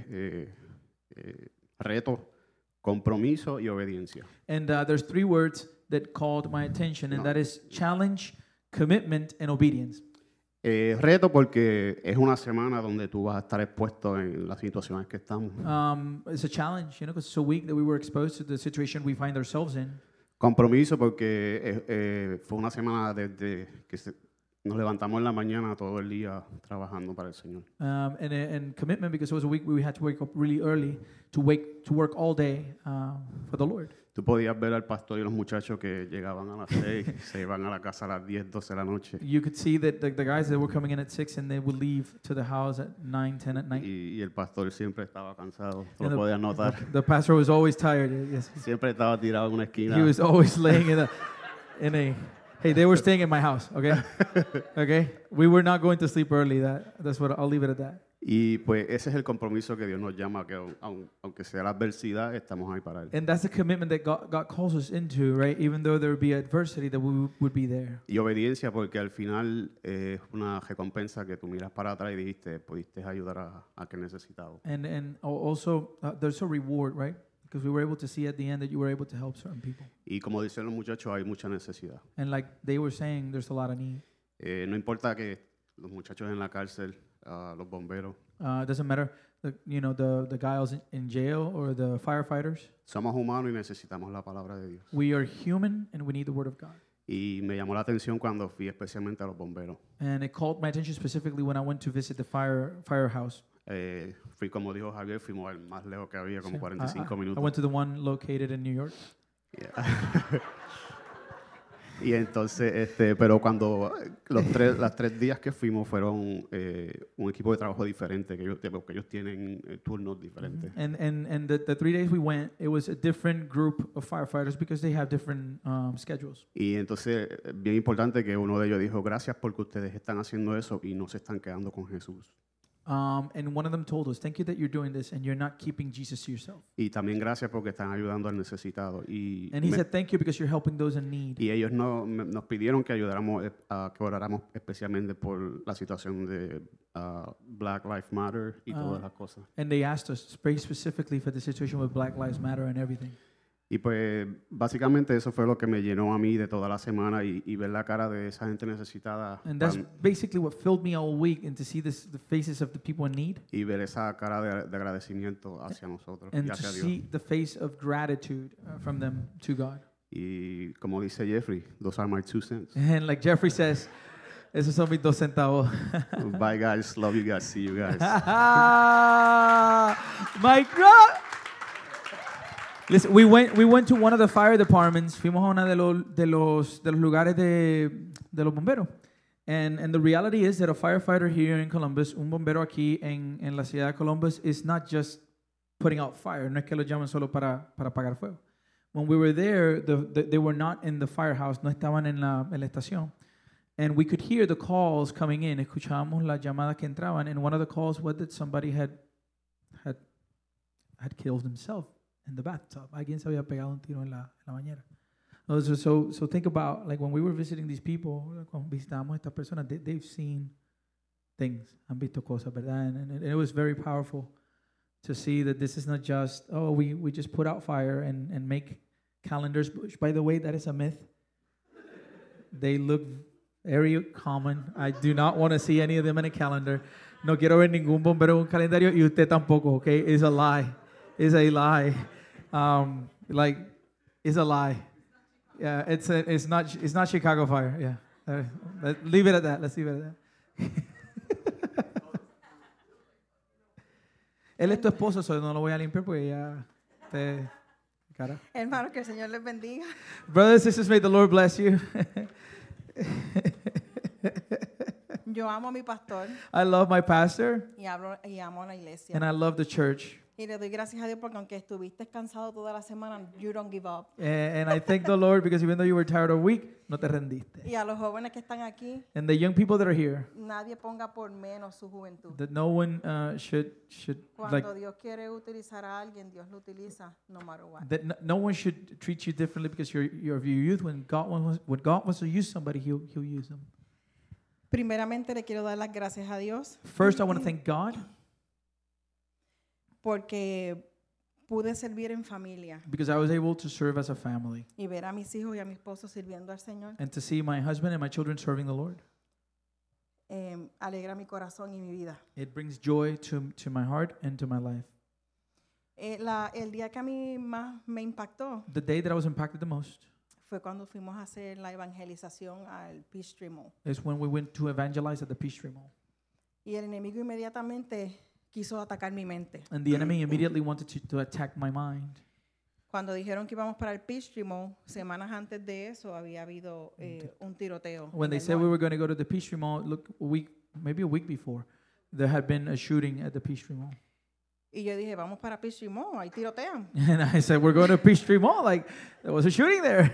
Speaker 7: es reto, compromiso y obediencia.
Speaker 1: And there's 3 words that called my attention, and that is challenge, commitment, and obedience.
Speaker 7: Reto porque es una semana donde tú vas a estar expuesto en las situaciones que estamos.
Speaker 1: It's a challenge, you know, because it's a week that we were exposed to the situation we find ourselves in.
Speaker 7: Compromiso porque fue una semana desde que nos levantamos en la mañana todo el día trabajando para el Señor.
Speaker 1: And commitment because it was a week where we had to wake up really early to work all day for the Lord.
Speaker 7: Tú podías ver al pastor y los muchachos que llegaban a las 6, se iban a la casa a las 10, 12 de la noche.
Speaker 1: You could see that the guys that were coming in at 6 and they would leave to the house at 9, 10 at night.
Speaker 7: Y el pastor siempre estaba cansado, tú
Speaker 1: And
Speaker 7: lo podías notar.
Speaker 1: The pastor was always tired. Yes.
Speaker 7: Siempre estaba tirado en una esquina.
Speaker 1: He was always laying in a hey, they were staying in my house, okay? Okay? We were not going to sleep early. That's what I'll leave it at that.
Speaker 7: Y pues ese es el compromiso que Dios nos llama, que aunque sea la adversidad, estamos ahí para Él.
Speaker 1: And that's the commitment that God calls us into, right? Even though there would be adversity, that we would be there.
Speaker 7: Y obediencia porque al final es una recompensa que tú miras para atrás y dijiste, pudiste ayudar a que necesitado.
Speaker 1: And also, there's a reward, right? Because we were able to see at the end that you were able to help certain people.
Speaker 7: Y como dicen los muchachos, hay mucha necesidad.
Speaker 1: And like they were saying, there's a lot of need.
Speaker 7: No importa que los muchachos en la cárcel, los bomberos,
Speaker 1: It doesn't matter, the guys in jail or the firefighters.
Speaker 7: somos humanos y necesitamos la palabra de Dios.
Speaker 1: We are human and we need the word of God.
Speaker 7: Y me llamó la atención cuando fui especialmente a los bomberos.
Speaker 1: And it called my attention specifically when I went to visit the firehouse.
Speaker 7: Fui, como dijo Javier, fuimos al más lejos que había, como
Speaker 1: So,
Speaker 7: 45
Speaker 1: I
Speaker 7: minutos.
Speaker 1: went to the one located in New York.
Speaker 7: Yeah. Y entonces, pero cuando las 3 días que fuimos fueron un equipo de trabajo diferente, que ellos tienen turnos diferentes.
Speaker 1: And the 3 days we went, it was a different group of firefighters because they have different schedules.
Speaker 7: Y entonces, bien importante que uno de ellos dijo, gracias porque ustedes están haciendo eso y no se están quedando con Jesús.
Speaker 1: And one of them told us, thank you that you're doing this and you're not keeping Jesus to yourself.
Speaker 7: Y también gracias porque están ayudando al necesitado.
Speaker 1: And he said, thank you because you're helping those in need.
Speaker 7: Y ellos nos pidieron que ayudáramos, que oráramos especialmente por la situación de Black Lives Matter y todas las cosas.
Speaker 1: And they asked us, pray specifically for the situation with Black Lives Matter and everything.
Speaker 7: Y pues básicamente eso fue lo que me llenó a mí de toda la semana y ver la cara de esa gente necesitada
Speaker 1: And that's basically what filled me all week, and to see the faces of the people in need,
Speaker 7: y ver esa cara de agradecimiento hacia nosotros
Speaker 1: and
Speaker 7: y
Speaker 1: to
Speaker 7: hacia Dios.
Speaker 1: see the face of gratitude from them to God.
Speaker 7: Y como dice Jeffrey, those are my 2 cents.
Speaker 1: And like Jeffrey says, esos son mis 2 centavos.
Speaker 7: Bye guys, love you guys, see you guys.
Speaker 1: My God. Listen, we went to one of the fire departments. Fuimos a uno de los lugares de los bomberos. And the reality is that a firefighter here in Columbus, un bombero aquí en la ciudad de Columbus, is not just putting out fire. No es que lo llaman solo para apagar fuego. When we were there, they were not in the firehouse, no estaban en la estación. And we could hear the calls coming in. Escuchábamos las llamadas que entraban. And one of the calls was that somebody had killed himself in the bathtub. Alguien se había pegado un tiro en la bañera. So think about, like, when we were visiting these people, cuando visitábamos a estas personas, they've seen things, han visto cosas, ¿verdad? And it was very powerful to see that this is not just, we just put out fire and make calendars, which, by the way, that is a myth. They look very common. I do not want to see any of them in a calendar. No quiero ver ningún bombero en un calendario y usted tampoco, okay? It's a lie. It's a lie. It's a lie. Yeah, it's not Chicago Fire. Yeah, leave it at that. Let's leave it at that. Él es tu esposo, so no lo voy a limpiar porque ya te cara.
Speaker 8: Hermanos, que el Señor les bendiga.
Speaker 1: Brothers and sisters, may the Lord bless you.
Speaker 8: Yo amo a mi pastor
Speaker 1: I love my pastor
Speaker 8: y amo a la iglesia.
Speaker 1: and I love the church.
Speaker 8: Y le doy gracias a Dios porque aunque estuviste cansado toda la semana, you don't give up.
Speaker 1: And I thank the Lord because even though you were tired or weak, no te rendiste.
Speaker 8: Y a los jóvenes que están aquí,
Speaker 1: And the young people that are here,
Speaker 8: nadie ponga por menos su juventud.
Speaker 1: that no one should
Speaker 8: Cuando
Speaker 1: like
Speaker 8: Dios quiere utilizar a alguien, Dios lo utiliza no matter what.
Speaker 1: that no one should treat you differently because you're of your youth. When God wants to use somebody, He'll use them.
Speaker 8: Primeramente le quiero dar las gracias a Dios
Speaker 1: First, I want to thank God
Speaker 8: porque pude servir en familia
Speaker 1: because I was able to serve as a family
Speaker 8: y ver a mis hijos y a mi esposo sirviendo al Señor.
Speaker 1: and to see my husband and my children serving the Lord.
Speaker 8: Alegra mi corazón y mi vida.
Speaker 1: It brings joy to my heart and to my life.
Speaker 8: El día que a mí más me impactó
Speaker 1: The day that I was impacted the most
Speaker 8: fue cuando fuimos a hacer la evangelización al Peachtree Mall.
Speaker 1: is when we went to evangelize at the Peachtree Mall.
Speaker 8: Y el enemigo inmediatamente quiso atacar mi mente.
Speaker 1: And the enemy immediately wanted to attack my mind.
Speaker 8: Cuando dijeron que íbamos para el Peachtree Mall, semanas antes de eso había habido un tiroteo.
Speaker 1: When
Speaker 8: en
Speaker 1: they
Speaker 8: el
Speaker 1: said we
Speaker 8: mall.
Speaker 1: were going to go to the Peachtree Mall, look, maybe a week before, there had been a shooting at the Peachtree Mall.
Speaker 8: Y yo dije, vamos para Peachtree Mall, ahí tirotean.
Speaker 1: And I said, we're going to Peachtree Mall. Like, there was a shooting there.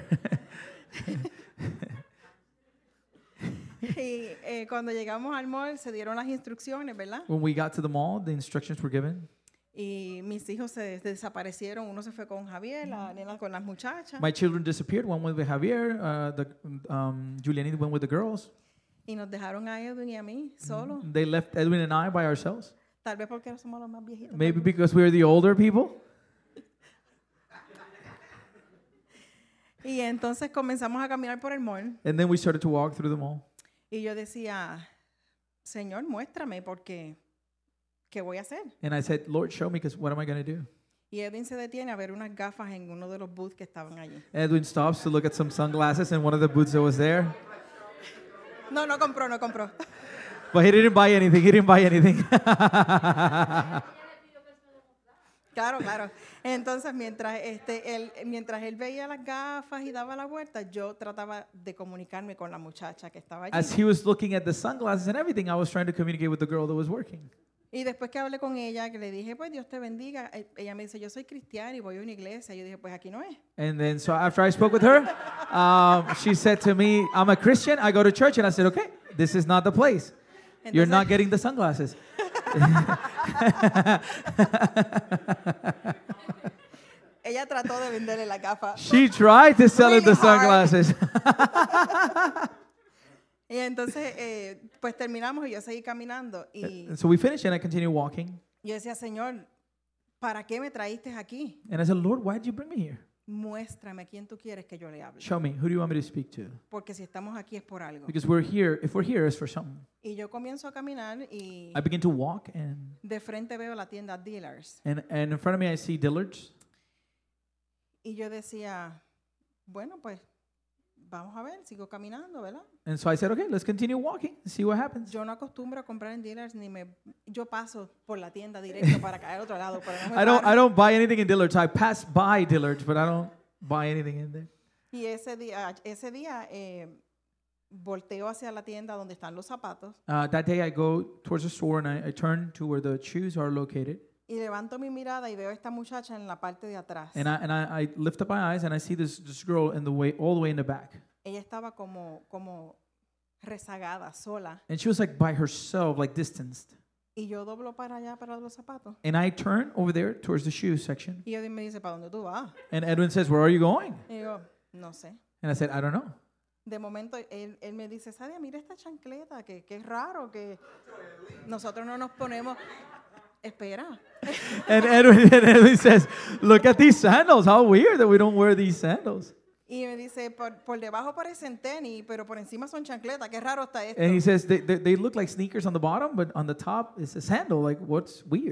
Speaker 8: Y cuando llegamos al mall se dieron las instrucciones, ¿verdad?
Speaker 1: When we got to the mall, the instructions were given.
Speaker 8: Y mis hijos se desaparecieron. Uno se fue con Javier, la nena con las muchachas.
Speaker 1: My children disappeared. One went with Javier. Julianita went with the girls.
Speaker 8: Y nos dejaron a Edwin y a mí solos.
Speaker 1: They left Edwin and I by ourselves.
Speaker 8: Tal vez porque somos los más viejitos.
Speaker 1: Maybe because we were the older people.
Speaker 8: Y entonces comenzamos a caminar por el mall.
Speaker 1: And then we started to walk through the mall.
Speaker 8: Y yo decía, Señor, muéstrame porque ¿qué voy a hacer?
Speaker 1: And I said, Lord, show me, because what am I going to do?
Speaker 8: Y Edwin se detiene a ver unas gafas en uno de los booths que estaban allí.
Speaker 1: Edwin stops to look at some sunglasses in one of the booths that was there.
Speaker 8: No compró.
Speaker 1: But he didn't buy anything. He didn't buy anything.
Speaker 8: Claro. Entonces, mientras él veía las gafas y daba la vuelta, yo trataba de comunicarme con la muchacha que estaba allí.
Speaker 1: As he was looking at the sunglasses and everything, I was trying to communicate with the girl that was working.
Speaker 8: Y después que hablé con ella, que le dije, pues Dios te bendiga, ella me dice, yo soy cristiana y voy a una iglesia. Yo dije, pues aquí no es.
Speaker 1: And then, so after I spoke with her, she said to me, I'm a Christian, I go to church. And I said, okay, this is not the place. You're
Speaker 8: Entonces-
Speaker 1: not getting the sunglasses.
Speaker 8: Ella trató de venderle la gafa.
Speaker 1: She tried to sell him the
Speaker 8: Really hard.
Speaker 1: sunglasses.
Speaker 8: Y entonces, pues terminamos y yo seguí caminando. Y
Speaker 1: And so we finished and I continued walking.
Speaker 8: yo decía, Señor, ¿para qué me traíste aquí?
Speaker 1: And I said, Lord, why did you bring me here?
Speaker 8: Muéstrame a quién tú quieres que yo le hable.
Speaker 1: Show me. Who do you want me to speak to?
Speaker 8: Porque si estamos aquí es por algo.
Speaker 1: Because we're here. If we're here, it's for something.
Speaker 8: Y yo comienzo a caminar y
Speaker 1: I begin to walk, and
Speaker 8: de frente veo la tienda Dealers.
Speaker 1: in front of me I see Dillard's.
Speaker 8: Y yo decía, bueno, pues vamos a ver, sigo caminando, ¿verdad?
Speaker 1: And so I said, okay, let's continue walking and see what happens.
Speaker 8: Yo no acostumbro a comprar en Dealers yo paso por la tienda directo para caer al otro lado, pero no me
Speaker 1: I
Speaker 8: paro.
Speaker 1: don't buy anything in Dillard's. I pass by Dillard's, but I don't buy anything in there.
Speaker 8: Y ese día volteo hacia la tienda donde están los zapatos
Speaker 1: That day I go towards the store and I turn to where the shoes are located.
Speaker 8: y levanto mi mirada y veo a esta muchacha en la parte de atrás.
Speaker 1: And I lift up my eyes and I see this girl all the way in the back.
Speaker 8: Ella estaba como rezagada, sola.
Speaker 1: And she was like by herself, like distanced.
Speaker 8: Y yo doblo para allá para los zapatos.
Speaker 1: And I turn over there towards the shoe section.
Speaker 8: Y Edwin me dice, ¿para dónde tú vas?
Speaker 1: And Edwin says, where are you going?
Speaker 8: Y yo, no sé.
Speaker 1: And I said, I don't know.
Speaker 8: De momento él me dice, Sadia, mira esta chancleta, que es raro que nosotros no nos ponemos. Espera.
Speaker 1: And Edwin says, look at these sandals. How weird that we don't wear these sandals.
Speaker 8: Y me dice, por debajo parecen tenis, pero por encima son chancletas. Qué raro está esto.
Speaker 1: And he says, they look like sneakers on the bottom, but on the top is a sandal. Like, what's weird?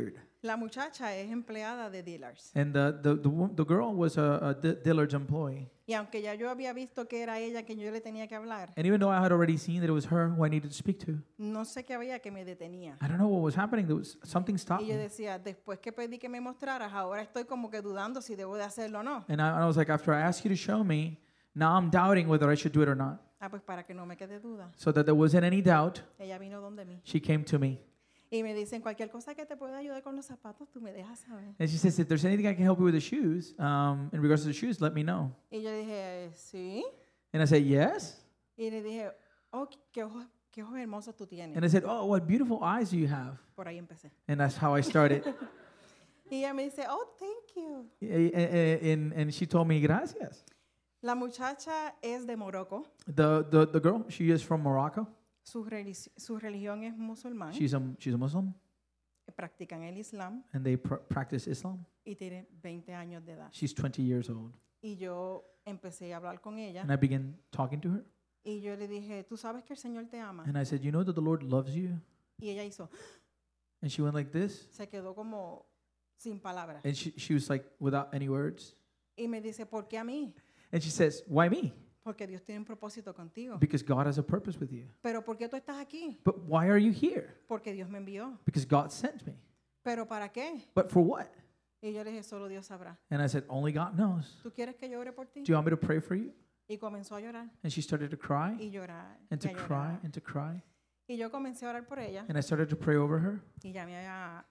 Speaker 8: La muchacha es empleada de dealers.
Speaker 1: And the girl was a Dillard's employee.
Speaker 8: Y aunque ya yo había visto que era ella que yo le tenía que hablar,
Speaker 1: And even though I had already seen that it was her who I needed to speak to,
Speaker 8: no sé qué había que me detenía.
Speaker 1: I don't know what was happening. There was something stopped
Speaker 8: Y yo
Speaker 1: me.
Speaker 8: decía, después que pedí que me mostraras, ahora estoy como que dudando si debo de hacerlo o no.
Speaker 1: And I was like, after I asked you to show me, now I'm doubting whether I should do it or not.
Speaker 8: Ah, pues para que no me quede duda.
Speaker 1: So that there wasn't any doubt,
Speaker 8: Ella vino donde mí.
Speaker 1: she came to me.
Speaker 8: Y me dicen, cualquier cosa que te pueda ayudar con los zapatos, tú me dejas saber.
Speaker 1: And she says, if there's anything I can help you with the shoes, in regards to the shoes, let me know.
Speaker 8: Y yo dije, sí.
Speaker 1: And I said, yes.
Speaker 8: Y le dije, oh, qué ojos hermosos tú tienes.
Speaker 1: And I said, oh, what beautiful eyes do you have.
Speaker 8: Por ahí empecé.
Speaker 1: And that's how I started.
Speaker 8: Y ella me dice, oh, thank you.
Speaker 1: And she told me, gracias.
Speaker 8: La muchacha es de Morocco.
Speaker 1: The girl, she is from Morocco.
Speaker 8: Su religión es musulmán.
Speaker 1: She's a Muslim,
Speaker 8: Practican el Islam
Speaker 1: and they practice Islam.
Speaker 8: y tiene 20 años de edad.
Speaker 1: She's 20 years old.
Speaker 8: Y yo empecé a hablar con ella
Speaker 1: And I began talking to her.
Speaker 8: y yo le dije, tú sabes que el Señor te ama.
Speaker 1: And I said, you know that the Lord loves you?
Speaker 8: Y ella hizo,
Speaker 1: And she went like this.
Speaker 8: se quedó como sin palabras.
Speaker 1: And she was like, without any words.
Speaker 8: Y me dice, ¿por qué a mí?
Speaker 1: And she says, why me?
Speaker 8: Porque Dios tiene un propósito contigo.
Speaker 1: Because God has a purpose with you.
Speaker 8: Pero ¿por qué tú estás aquí?
Speaker 1: But why are you here?
Speaker 8: Porque Dios me envió.
Speaker 1: Because God sent me.
Speaker 8: ¿Pero para qué?
Speaker 1: But for what?
Speaker 8: Y yo le dije, solo Dios sabrá.
Speaker 1: And I said, only God knows.
Speaker 8: ¿Tú quieres que yo ore por ti?
Speaker 1: Do you want me to pray for you?
Speaker 8: Y comenzó a llorar
Speaker 1: And she started to cry
Speaker 8: y llorar
Speaker 1: and
Speaker 8: y
Speaker 1: to
Speaker 8: a
Speaker 1: cry
Speaker 8: llorar.
Speaker 1: and to cry.
Speaker 8: Y yo comencé a orar por ella
Speaker 1: And I started to pray over her.
Speaker 8: y llamé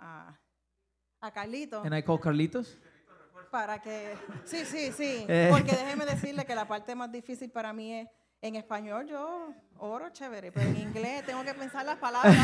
Speaker 8: a Carlito
Speaker 1: And I called Carlitos.
Speaker 8: para que... Sí, sí, sí.
Speaker 1: Eh.
Speaker 8: Porque déjeme decirle que la parte más difícil para mí es, en español yo oro chévere, pero en inglés tengo que pensar las palabras.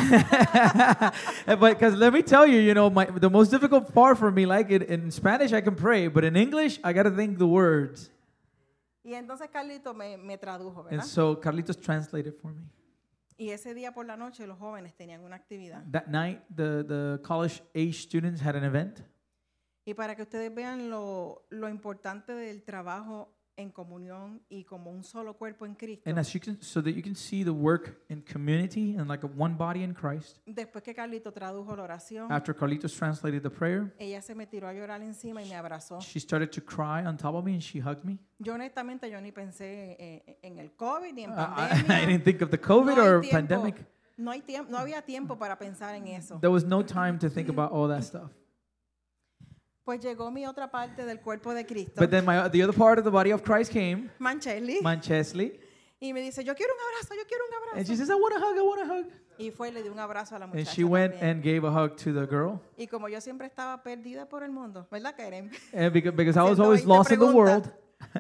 Speaker 1: But because let me tell you, the most difficult part for me, like in Spanish, I can pray, but in English, I got to think the words.
Speaker 8: Y entonces Carlito me tradujo,
Speaker 1: And
Speaker 8: ¿verdad?
Speaker 1: so Carlitos translated for me.
Speaker 8: Y ese día por la noche los jóvenes tenían una actividad.
Speaker 1: That night, the college age students had an event.
Speaker 8: Y para que ustedes vean lo importante del trabajo en comunión y como un solo cuerpo en Cristo.
Speaker 1: And so that you can see the work in community and like a one body in Christ.
Speaker 8: Después que Carlito tradujo la oración,
Speaker 1: After Carlitos translated the prayer,
Speaker 8: ella se me tiró a llorar encima y me abrazó.
Speaker 1: she started to cry on top of me and she hugged me.
Speaker 8: Yo honestamente yo ni pensé en el COVID ni en
Speaker 1: I
Speaker 8: pandemia.
Speaker 1: didn't think of the COVID
Speaker 8: No hay
Speaker 1: or
Speaker 8: tiempo.
Speaker 1: pandemic.
Speaker 8: No había tiempo para pensar en eso.
Speaker 1: There was no time to think about all that stuff.
Speaker 8: Pues llegó mi otra parte del cuerpo de Cristo,
Speaker 1: But then the other part of the body of Christ came,
Speaker 8: Mancheli,
Speaker 1: Manchesley,
Speaker 8: y me dice, yo quiero un abrazo, yo quiero un
Speaker 1: and she
Speaker 8: abrazo.
Speaker 1: says, I want a hug.
Speaker 8: Y fue y le di un abrazo a la
Speaker 1: And
Speaker 8: muchacha
Speaker 1: she went
Speaker 8: también.
Speaker 1: and gave a hug to the girl.
Speaker 8: Y como yo siempre estaba perdida por el mundo, ¿verdad, Karen?
Speaker 1: And because I was
Speaker 8: Haciendo
Speaker 1: always
Speaker 8: 20
Speaker 1: lost in the
Speaker 8: preguntas.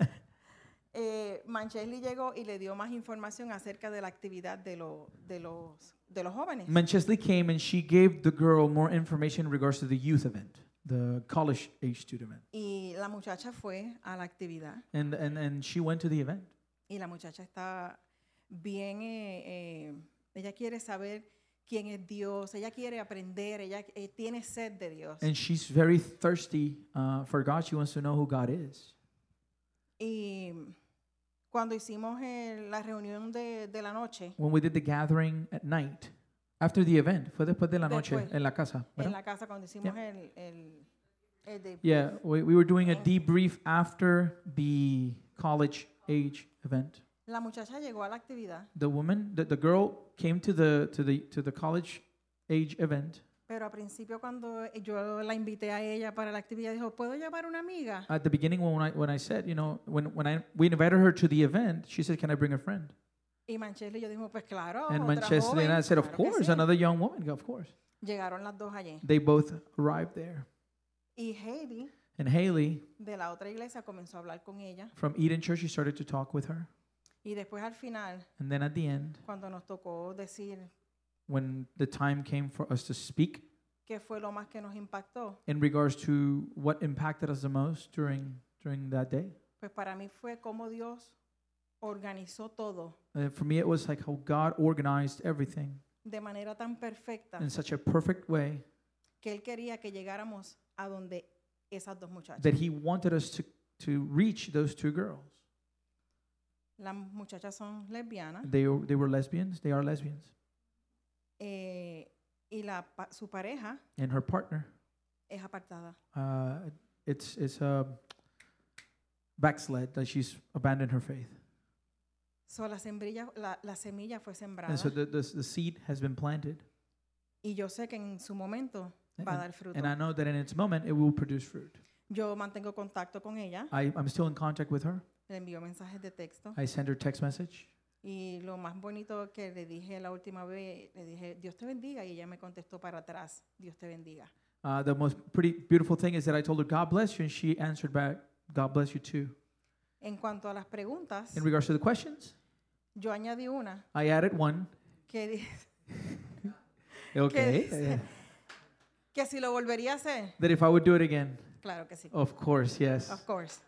Speaker 1: world,
Speaker 8: Mancheli llegó y le dio más información acerca de la actividad de los jóvenes.
Speaker 1: Manchesley came and she gave the girl more information in regards to the youth event, the college age student event.
Speaker 8: Y la muchacha fue a la actividad
Speaker 1: And she went to the event.
Speaker 8: y la muchacha está bien, ella quiere saber quién es Dios, ella quiere aprender, ella tiene sed de Dios.
Speaker 1: And she's very thirsty for God. She wants to know who God is.
Speaker 8: Y cuando hicimos la reunión de la noche
Speaker 1: When we did the gathering at night, after the event, fue después de la noche
Speaker 8: Después.
Speaker 1: en la casa.
Speaker 8: en
Speaker 1: ¿verdad?
Speaker 8: la casa, cuando hicimos el debrief,
Speaker 1: Yeah, we were doing a debrief after the college age event.
Speaker 8: la muchacha llegó a la actividad,
Speaker 1: The girl came to the college age event.
Speaker 8: pero al principio cuando yo la invité a ella para la actividad, dijo, ¿puedo llevar una amiga?
Speaker 1: At the beginning, when I said, we invited her to the event, she said, "Can I bring a friend?"
Speaker 8: Y Mancheli y yo dijimos, pues claro,
Speaker 1: And
Speaker 8: otra
Speaker 1: Manchester and I
Speaker 8: joven,
Speaker 1: said, "Of
Speaker 8: claro que
Speaker 1: course,
Speaker 8: sí".
Speaker 1: another young woman, of course."
Speaker 8: Llegaron las dos allí.
Speaker 1: They both arrived there,
Speaker 8: Y Heidi,
Speaker 1: and Haley
Speaker 8: de la otra iglesia, comenzó a hablar con ella.
Speaker 1: from Eden Church, she started to talk with her,
Speaker 8: Y después al final,
Speaker 1: and then at the end,
Speaker 8: cuando nos tocó decir
Speaker 1: when the time came for us to speak
Speaker 8: qué fue lo más que nos impactó,
Speaker 1: in regards to what impacted us the most during that day,
Speaker 8: pues para mí fue cómo Dios organizó todo
Speaker 1: for me, it was like how God organized everything
Speaker 8: de manera tan perfecta
Speaker 1: in such a perfect way
Speaker 8: que Él quería que llegáramos a donde esas dos muchachas.
Speaker 1: that He wanted us to reach those two girls.
Speaker 8: Las muchachas son lesbianas
Speaker 1: They were lesbians. They are lesbians.
Speaker 8: y su pareja
Speaker 1: And her partner,
Speaker 8: es apartada.
Speaker 1: It's a backslid, that she's abandoned her faith.
Speaker 8: So, la semilla fue sembrada
Speaker 1: And so the seed has been planted.
Speaker 8: y yo sé que en su momento va a dar fruto.
Speaker 1: And I know that in its moment it will produce fruit.
Speaker 8: Yo mantengo contacto con ella,
Speaker 1: I'm still in contact with her.
Speaker 8: le envío mensajes de texto
Speaker 1: I send her text message.
Speaker 8: y lo más bonito que le dije la última vez, le dije, Dios te bendiga, y ella me contestó para atrás, Dios te bendiga.
Speaker 1: The most pretty beautiful thing is that I told her, God bless you, and she answered back, God bless you too.
Speaker 8: En cuanto a las preguntas,
Speaker 1: In regards to the questions,
Speaker 8: yo añadí una
Speaker 1: I added one.
Speaker 8: que,
Speaker 1: Okay.
Speaker 8: dice que si lo volvería a hacer,
Speaker 1: That if I would do it again.
Speaker 8: claro que sí,
Speaker 1: Of course, yes.
Speaker 8: of course.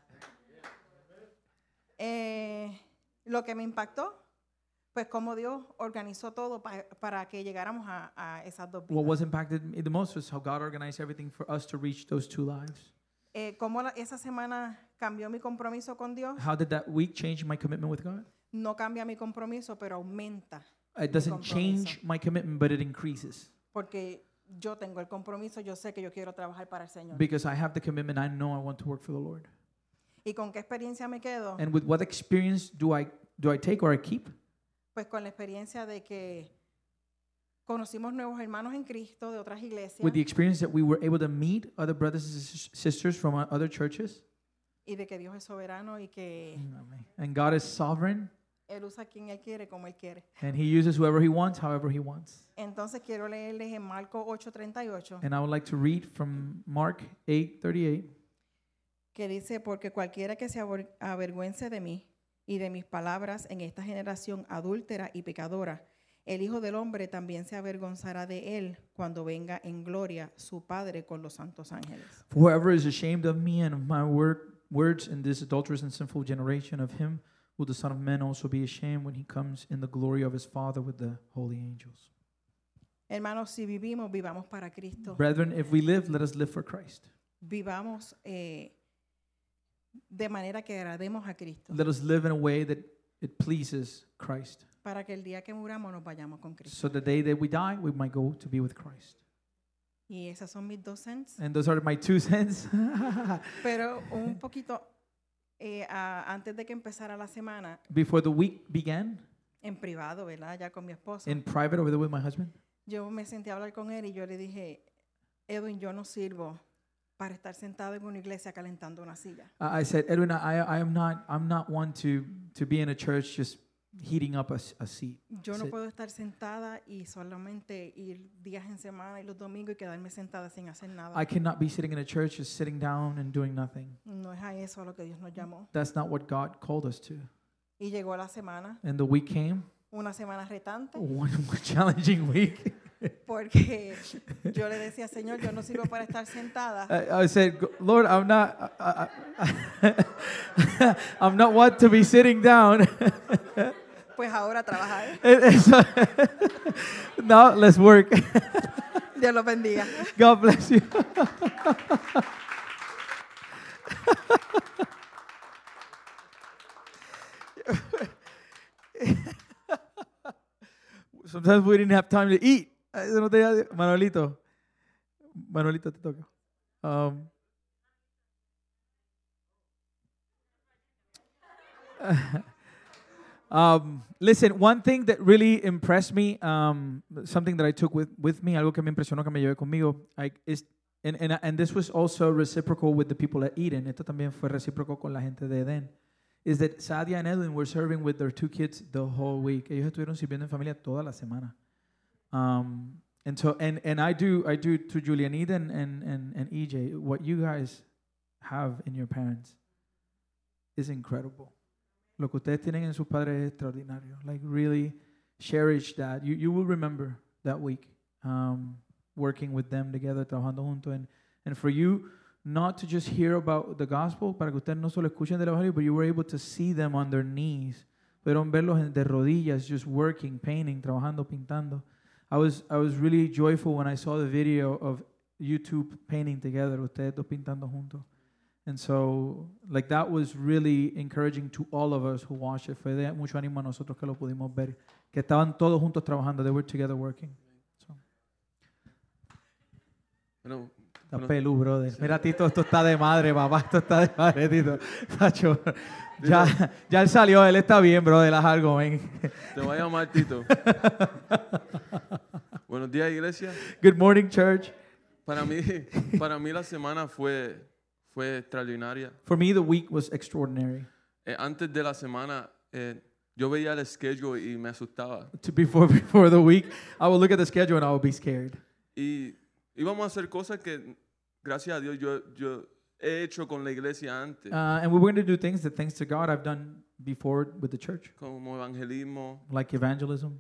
Speaker 8: Lo que me impactó, pues cómo Dios organizó todo para que llegáramos a esas dos
Speaker 1: What
Speaker 8: vidas.
Speaker 1: was impacted me the most was how God organized everything for us to reach those two lives.
Speaker 8: Cómo esa semana cambió mi compromiso con Dios.
Speaker 1: How did that week change my commitment with God?
Speaker 8: No cambia mi compromiso, pero aumenta,
Speaker 1: It doesn't
Speaker 8: compromiso.
Speaker 1: change my commitment, but it increases.
Speaker 8: porque yo tengo el compromiso, yo sé que yo quiero trabajar para el Señor.
Speaker 1: Because I have the commitment, I know I want to work for the Lord.
Speaker 8: ¿Y con qué experiencia me quedo?
Speaker 1: And with what experience do I take or I keep?
Speaker 8: Pues con la experiencia de que conocimos nuevos hermanos en Cristo de otras iglesias
Speaker 1: With the experience that we were able to meet other brothers and sisters from other churches.
Speaker 8: y de que Dios es soberano y que
Speaker 1: And God is sovereign,
Speaker 8: Él usa a quien Él quiere como Él quiere.
Speaker 1: and He uses whoever He wants, however He wants.
Speaker 8: Entonces quiero leerles en Marcos 8:38
Speaker 1: And I would like to read from Mark 8:38.
Speaker 8: que dice, porque cualquiera que se avergüence de mí y de mis palabras en esta generación adúltera y pecadora, el Hijo del Hombre también se avergonzará de él cuando venga en gloria su Padre con los santos ángeles.
Speaker 1: For whoever is ashamed of me and of my words in this adulterous and sinful generation, of him will the Son of Man also be ashamed when He comes in the glory of His Father with the holy angels.
Speaker 8: Hermanos, si vivimos, vivamos para Cristo.
Speaker 1: Brethren, if we live, let us live for Christ.
Speaker 8: Vivamos de manera que agrademos a Cristo,
Speaker 1: Let us live in a way that it pleases Christ.
Speaker 8: para que el día que muramos nos vayamos con Cristo.
Speaker 1: So the day that we die, we might go to be with Christ.
Speaker 8: Y esas son mis 2 cents.
Speaker 1: And those are my 2 cents.
Speaker 8: Pero un poquito antes de que empezara la semana,
Speaker 1: Before the week began,
Speaker 8: en privado, ¿verdad? Ya con mi esposo,
Speaker 1: in private over there with my husband,
Speaker 8: yo me senté a hablar con él y yo le dije, Edwin, yo no sirvo para estar sentado en una iglesia calentando una silla.
Speaker 1: I said, Edwin, I'm not one to be in a church just heating up a seat.
Speaker 8: Yo no
Speaker 1: Sí.
Speaker 8: puedo estar sentada y solamente ir días en semana y los domingos y quedarme sentada sin hacer nada.
Speaker 1: I cannot be sitting in a church just sitting down and doing nothing.
Speaker 8: No es a eso a lo que Dios nos llamó.
Speaker 1: That's not what God called us to.
Speaker 8: Y llegó la semana,
Speaker 1: And the week came,
Speaker 8: una semana retante,
Speaker 1: one challenging week.
Speaker 8: porque yo le decía, Señor, yo no sirvo para estar sentada.
Speaker 1: I said, Lord, I'm not one to be sitting down.
Speaker 8: Pues ahora trabajar.
Speaker 1: And so, now let's work.
Speaker 8: Dios los bendiga.
Speaker 1: God bless you. Sometimes we didn't have time to eat. Eso no te- Manuelito, te toca. Listen, one thing that really impressed me, something that I took with me, algo que me impresionó, que me llevé conmigo, is, and this was also reciprocal with the people at Eden. Esto también fue recíproco con la gente de Eden. Is that Sadia and Edwin were serving with their 2 kids the whole week. Ellos estuvieron sirviendo en familia toda la semana. And so, and I do to Julianita and EJ, what you guys have in your parents is incredible. Lo que ustedes tienen en sus padres es extraordinario. Like, really cherish that. You will remember that week, working with them together, trabajando juntos. And for you not to just hear about the gospel, para que ustedes no solo escuchen del evangelio, but you were able to see them on their knees. Pudieron verlos de rodillas, just working, painting, trabajando, pintando. I was really joyful when I saw the video of you two painting together, ustedes dos pintando juntos. And so, like, that was really encouraging to all of us who watched it. Fue de mucho ánimo a nosotros que lo pudimos ver. Que estaban todos juntos trabajando. They were together working. So.
Speaker 2: Bueno,
Speaker 1: Está pelú, brother. Mira, Tito, esto está de madre, papá. Esto está de madre, Tito. Tacho, ya él salió, él está bien, brother. Haz algo, ven.
Speaker 9: Te voy a llamar Tito. Buenos días, iglesia.
Speaker 1: Good morning, church.
Speaker 9: Para mí la semana fue extraordinaria.
Speaker 1: For me, the week was extraordinary.
Speaker 9: Antes de la semana, yo veía el schedule y me asustaba.
Speaker 1: Before the week, I would look at the schedule and I would be scared.
Speaker 9: Y íbamos a hacer cosas que, gracias a Dios, yo he hecho con la iglesia antes.
Speaker 1: And we were going to do things that, thanks to God, I've done before with the church,
Speaker 9: Como evangelismo.
Speaker 1: like evangelism.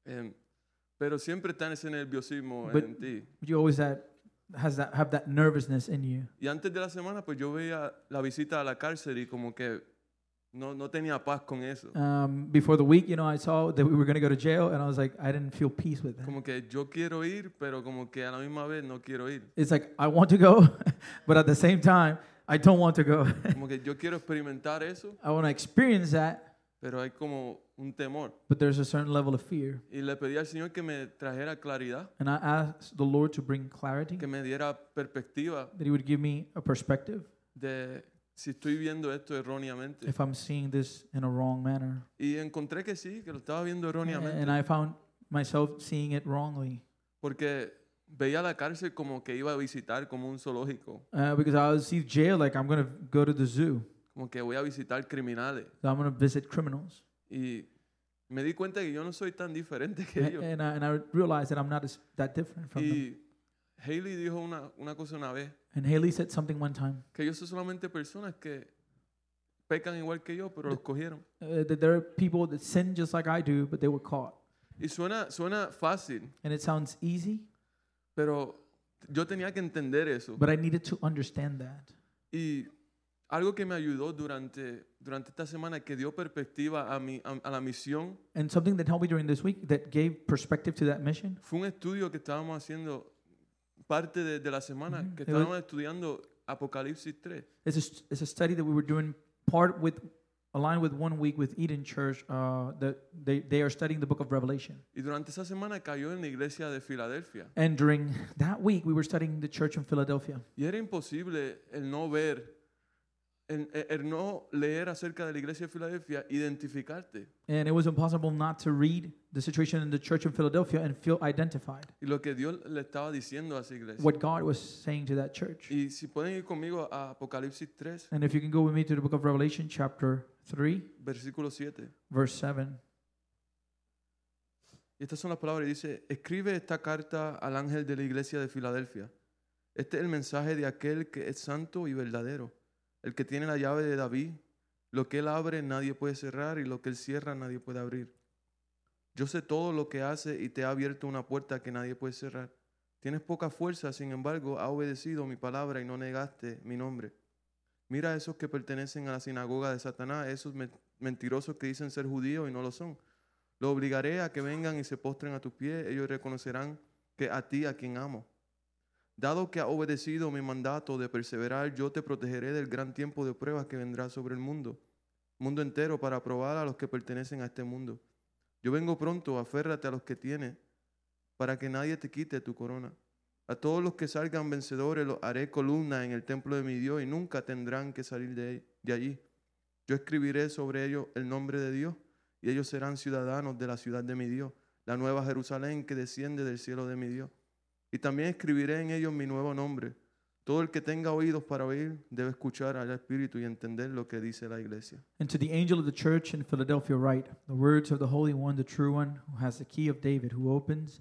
Speaker 9: Pero siempre está ese nerviosismo
Speaker 1: But
Speaker 9: en ti.
Speaker 1: you always have that nervousness in you.
Speaker 9: Y antes de la semana, pues yo veía la visita a la cárcel y como que no tenía paz con eso.
Speaker 1: Before the week, I saw that we were going to go to jail, and I was like, I didn't feel peace with that.
Speaker 9: Como que yo quiero ir, pero como que a la misma vez no quiero ir.
Speaker 1: It's like, I want to go, but at the same time, I don't want to go.
Speaker 9: Como que yo quiero experimentar eso,
Speaker 1: I want to experience that,
Speaker 9: pero hay como un temor.
Speaker 1: but there's a certain level of fear.
Speaker 9: Y le pedí al Señor que me trajera claridad,
Speaker 1: And I asked the Lord to bring clarity,
Speaker 9: que me diera perspectiva
Speaker 1: that He would give me a perspective
Speaker 9: de si estoy viendo esto erróneamente.
Speaker 1: if I'm seeing this in a wrong manner.
Speaker 9: Y encontré que sí, que lo estaba viendo erróneamente.
Speaker 1: And I found myself seeing it wrongly.
Speaker 9: Porque veía la cárcel como que iba a visitar como un zoológico.
Speaker 1: Because I would see jail like I'm going to go to the zoo.
Speaker 9: Como que voy a visitar criminales.
Speaker 1: So I'm going to visit criminals.
Speaker 9: Y me di cuenta que yo no soy tan diferente que ellos.
Speaker 1: And I realized that I'm not that different from them.
Speaker 9: Y Haley dijo una cosa una vez,
Speaker 1: And Haley said something one time,
Speaker 9: que ellos son solamente personas que pecan igual que yo, pero los cogieron.
Speaker 1: that there are people that sin just like I do, but they were caught.
Speaker 9: Y suena fácil,
Speaker 1: And it sounds easy,
Speaker 9: pero yo tenía que entender eso.
Speaker 1: but I needed to understand that.
Speaker 9: Y algo que me ayudó durante esta semana, que dio perspectiva a la misión,
Speaker 1: And something that helped me during this week that gave perspective to that mission
Speaker 9: fue un estudio que estábamos haciendo parte de la semana, que
Speaker 1: It was-
Speaker 9: estábamos estudiando Apocalipsis 3.
Speaker 1: it's a study that we were doing aligned with 1 week with Eden Church. That they are studying the book of Revelation.
Speaker 9: Y durante esa semana cayó en la iglesia de Filadelfia.
Speaker 1: And during that week, we were studying the church in Philadelphia.
Speaker 9: Y era imposible el no ver, el no leer acerca de la iglesia de Filadelfia, identificarte.
Speaker 1: And it was impossible not to read the situation in the church in Philadelphia and feel identified.
Speaker 9: Y lo que Dios le estaba diciendo a esa iglesia.
Speaker 1: What God was saying to that church.
Speaker 9: Y si pueden ir conmigo a Apocalipsis 3,
Speaker 1: And if you can go with me to the book of Revelation, chapter 3,
Speaker 9: versículo 7.
Speaker 1: verse 7.
Speaker 9: Y estas son las palabras. Dice, escribe esta carta al ángel de la iglesia de Filadelfia. Este es el mensaje de aquel que es santo y verdadero, el que tiene la llave de David. Lo que él abre nadie puede cerrar, y lo que él cierra nadie puede abrir. Yo sé todo lo que hace y te ha abierto una puerta que nadie puede cerrar. Tienes poca fuerza, sin embargo, has obedecido mi palabra y no negaste mi nombre. Mira a esos que pertenecen a la sinagoga de Satanás, esos mentirosos que dicen ser judíos y no lo son. Los obligaré a que vengan y se postren a tus pies. Ellos reconocerán que a ti, a quien amo. Dado que has obedecido mi mandato de perseverar, yo te protegeré del gran tiempo de pruebas que vendrá sobre el mundo entero, para probar a los que pertenecen a este mundo. Yo vengo pronto, aférrate a los que tienes, para que nadie te quite tu corona. A todos los que salgan vencedores los haré columna en el templo de mi Dios, y nunca tendrán que salir de allí. Yo escribiré sobre ellos el nombre de Dios, y ellos serán ciudadanos de la ciudad de mi Dios, la nueva Jerusalén que desciende del cielo de mi Dios. Y también escribiré en ellos mi nuevo nombre. Todo el que tenga oídos para oír debe escuchar al Espíritu y entender lo que dice la iglesia.
Speaker 1: And to the angel of the church in Philadelphia write, the words of the Holy One, the true one, who has the key of David, who opens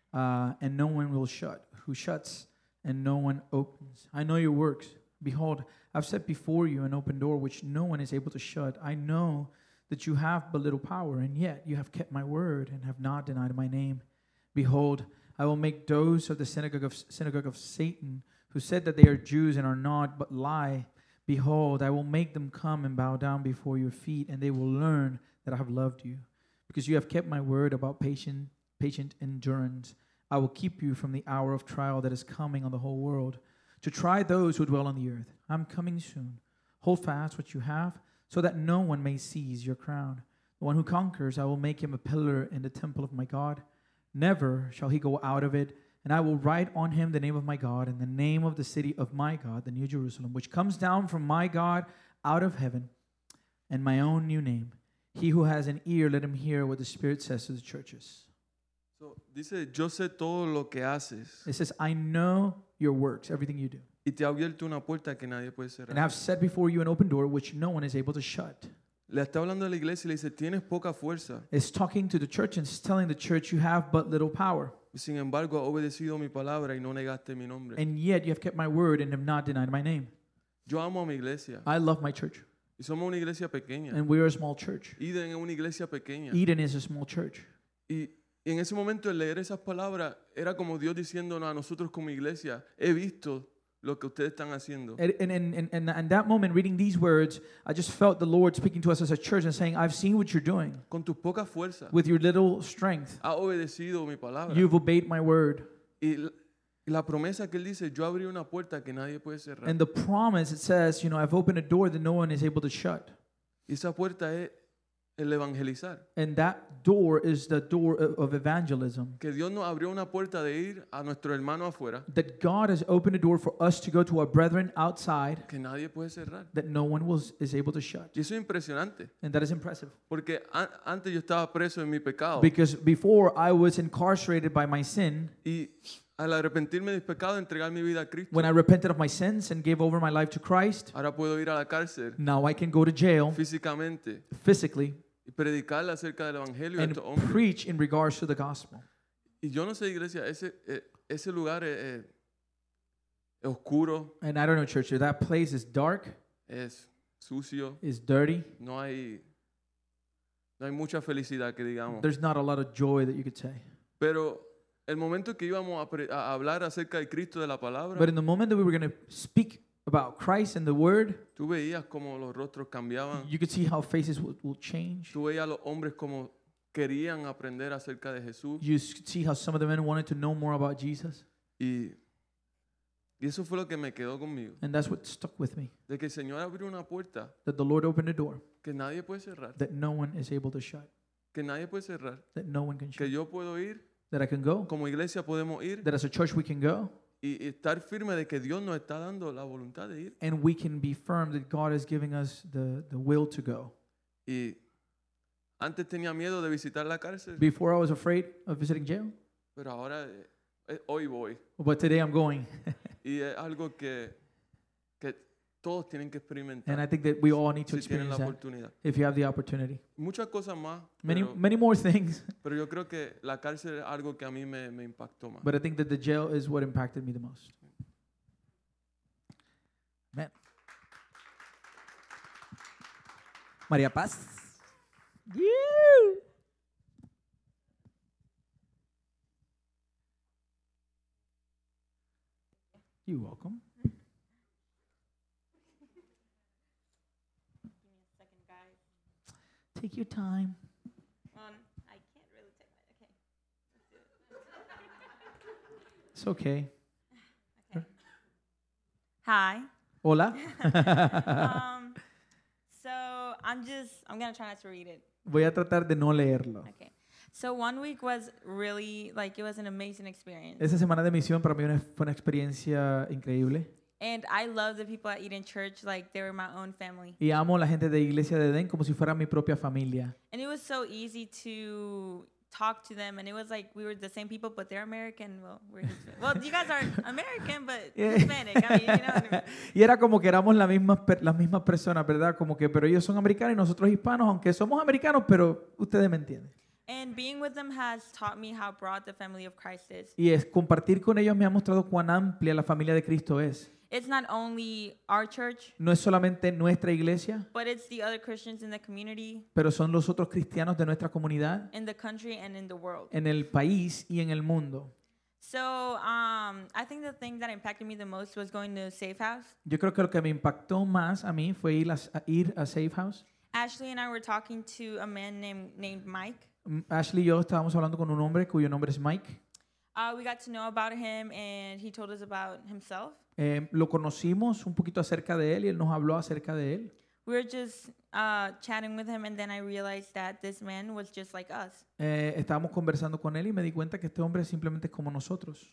Speaker 1: and no one will shut, who shuts and no one opens. I know your works. Behold, I've set before you an open door which no one is able to shut. I know that you have but little power, and yet you have kept my word and have not denied my name. Behold, I will make those of the synagogue of Satan, who said that they are Jews and are not, but lie. Behold, I will make them come and bow down before your feet, and they will learn that I have loved you. Because you have kept my word about patient endurance, I will keep you from the hour of trial that is coming on the whole world, to try those who dwell on the earth. I'm coming soon. Hold fast what you have, so that no one may seize your crown. The one who conquers, I will make him a pillar in the temple of my God. Never shall he go out of it, And I will write on him the name of my God and the name of the city of my God, the New Jerusalem, which comes down from my God out of heaven, and my own new name. He who has an ear, let him hear what the Spirit says to the churches.
Speaker 9: So, dice, yo sé todo lo que haces
Speaker 1: It says, I know your works, everything you do.
Speaker 9: y te ha abierto una puerta que nadie puede
Speaker 1: And
Speaker 9: cerrar.
Speaker 1: I've set before you an open door which no one is able to shut.
Speaker 9: Le está hablando a la iglesia y le dice, tienes poca fuerza.
Speaker 1: It's talking to the church and it's telling the church you have but little power.
Speaker 9: Sin embargo, has obedecido mi palabra y no negaste mi nombre.
Speaker 1: And yet you have kept my word and have not denied my name.
Speaker 9: Yo amo a mi iglesia
Speaker 1: I love my church.
Speaker 9: y somos una iglesia pequeña.
Speaker 1: And we're a small church.
Speaker 9: Eden es una iglesia pequeña.
Speaker 1: Eden is a small church.
Speaker 9: Y en ese momento, el leer esas palabras era como Dios diciéndonos a nosotros como iglesia, he visto lo que ustedes están haciendo.
Speaker 1: And that moment, reading these words, I just felt the Lord speaking to us as a church and saying, I've seen what you're doing.
Speaker 9: Con tus pocas fuerzas,
Speaker 1: With your little strength,
Speaker 9: has obedecido mi palabra.
Speaker 1: you've obeyed my word.
Speaker 9: Y la promesa que él dice, yo abrí una puerta que nadie puede cerrar.
Speaker 1: And the promise, it says, I've opened a door that no one is able to shut.
Speaker 9: Y esa puerta es el evangelizar.
Speaker 1: And that door is the door of evangelism.
Speaker 9: Que Dios nos abrió una puerta de ir a nuestro hermano afuera
Speaker 1: That God has opened a door for us to go to our brethren outside
Speaker 9: que nadie puede cerrar.
Speaker 1: that no one is able to shut.
Speaker 9: Y eso es impresionante.
Speaker 1: And that is impressive.
Speaker 9: Porque antes yo estaba preso en mi pecado.
Speaker 1: Because before I was incarcerated by my sin,
Speaker 9: Y al arrepentirme de mis pecados, entregar mi vida a Cristo,
Speaker 1: when I repented of my sins and gave over my life to Christ,
Speaker 9: ahora puedo ir a la cárcel
Speaker 1: now I can go to jail
Speaker 9: físicamente
Speaker 1: physically
Speaker 9: y predicarle acerca del evangelio a
Speaker 1: and
Speaker 9: estos hombres.
Speaker 1: preach in regards to the gospel.
Speaker 9: Y yo no sé, iglesia, ese lugar es oscuro,
Speaker 1: And I don't know, church, if that place is dark,
Speaker 9: es sucio,
Speaker 1: is dirty,
Speaker 9: no hay mucha felicidad que digamos.
Speaker 1: there's not a lot of joy that you could say.
Speaker 9: Pero el momento que íbamos a hablar acerca del Cristo de la palabra,
Speaker 1: But in the moment that we were going to speak about Christ and the Word,
Speaker 9: tú veías como los rostros cambiaban,
Speaker 1: you could see how faces will change.
Speaker 9: tú veías a los hombres como querían aprender acerca de Jesús.
Speaker 1: You see how some of the men wanted to know more about Jesus.
Speaker 9: Y eso fue lo que me quedó conmigo.
Speaker 1: And that's what stuck with me.
Speaker 9: De que el Señor abrió una puerta
Speaker 1: That the Lord opened a door
Speaker 9: que nadie puede cerrar.
Speaker 1: that no one is able to shut.
Speaker 9: Que nadie puede cerrar.
Speaker 1: That no one can
Speaker 9: Que
Speaker 1: shut.
Speaker 9: yo puedo ir,
Speaker 1: That I can go.
Speaker 9: como iglesia podemos ir
Speaker 1: That as a church we can go.
Speaker 9: y estar firme de que Dios nos está dando la voluntad de ir.
Speaker 1: And we can be firm that God is giving us the will to go.
Speaker 9: Y antes tenía miedo de visitar la cárcel,
Speaker 1: Before I was afraid of visiting jail.
Speaker 9: pero ahora hoy voy.
Speaker 1: But today I'm going.
Speaker 9: Y es algo que todos tienen que
Speaker 1: And I
Speaker 9: experimentar
Speaker 1: think that we all need to
Speaker 9: si tienen la
Speaker 1: experience that
Speaker 9: oportunidad.
Speaker 1: if you have the opportunity.
Speaker 9: Muchas cosas más,
Speaker 1: Many more things.
Speaker 9: pero yo creo que la cárcel es algo que a mí me impactó más.
Speaker 1: But I think that the jail is what impacted me the most. Amen.
Speaker 10: María Paz.
Speaker 1: You're welcome. Take your time.
Speaker 11: I can't really take my. Okay.
Speaker 1: It's okay.
Speaker 11: Hi.
Speaker 1: Hola.
Speaker 11: So I'm gonna try not to read it.
Speaker 1: Voy a tratar de no leerlo.
Speaker 11: Okay. So 1 week was really it was an amazing experience.
Speaker 1: Esa semana de misión para mí fue una experiencia increíble.
Speaker 11: And I love the people at Eden Church like they were my own family.
Speaker 1: Y amo a la gente de Iglesia de Edén como si fuera mi propia familia.
Speaker 11: And it was so easy to talk to them, and it was like we were the same people, but they're American. Well, we're Hispanic. Well, you guys are American, but Hispanic. I mean, you know what I mean?
Speaker 1: Y era como que éramos las mismas personas, ¿verdad? Como que, pero ellos son americanos y nosotros hispanos, aunque somos americanos, pero ustedes me entienden.
Speaker 11: And being with them has taught me how broad the family of Christ is.
Speaker 1: Y compartir con ellos me ha mostrado cuán amplia la familia de Cristo es.
Speaker 11: It's not only our church,
Speaker 1: No es solamente nuestra iglesia,
Speaker 11: but it's the other Christians in the community,
Speaker 1: pero son los otros cristianos de nuestra comunidad,
Speaker 11: in the country, and in the world.
Speaker 1: en el país y en el mundo.
Speaker 11: So I think the thing that impacted me the most was going to Safe House.
Speaker 1: Yo creo que lo que me impactó más a mí fue ir a Safe House.
Speaker 11: Ashley and I were talking to a man named Mike.
Speaker 1: Ashley y yo estábamos hablando con un hombre cuyo nombre es Mike.
Speaker 11: We got to know about him, and he told us about himself.
Speaker 1: Lo conocimos un poquito acerca de él y él nos habló acerca de él.
Speaker 11: We were just chatting with him, and then I realized that this man was just like us.
Speaker 1: Estábamos conversando con él y me di cuenta que este hombre simplemente es como nosotros.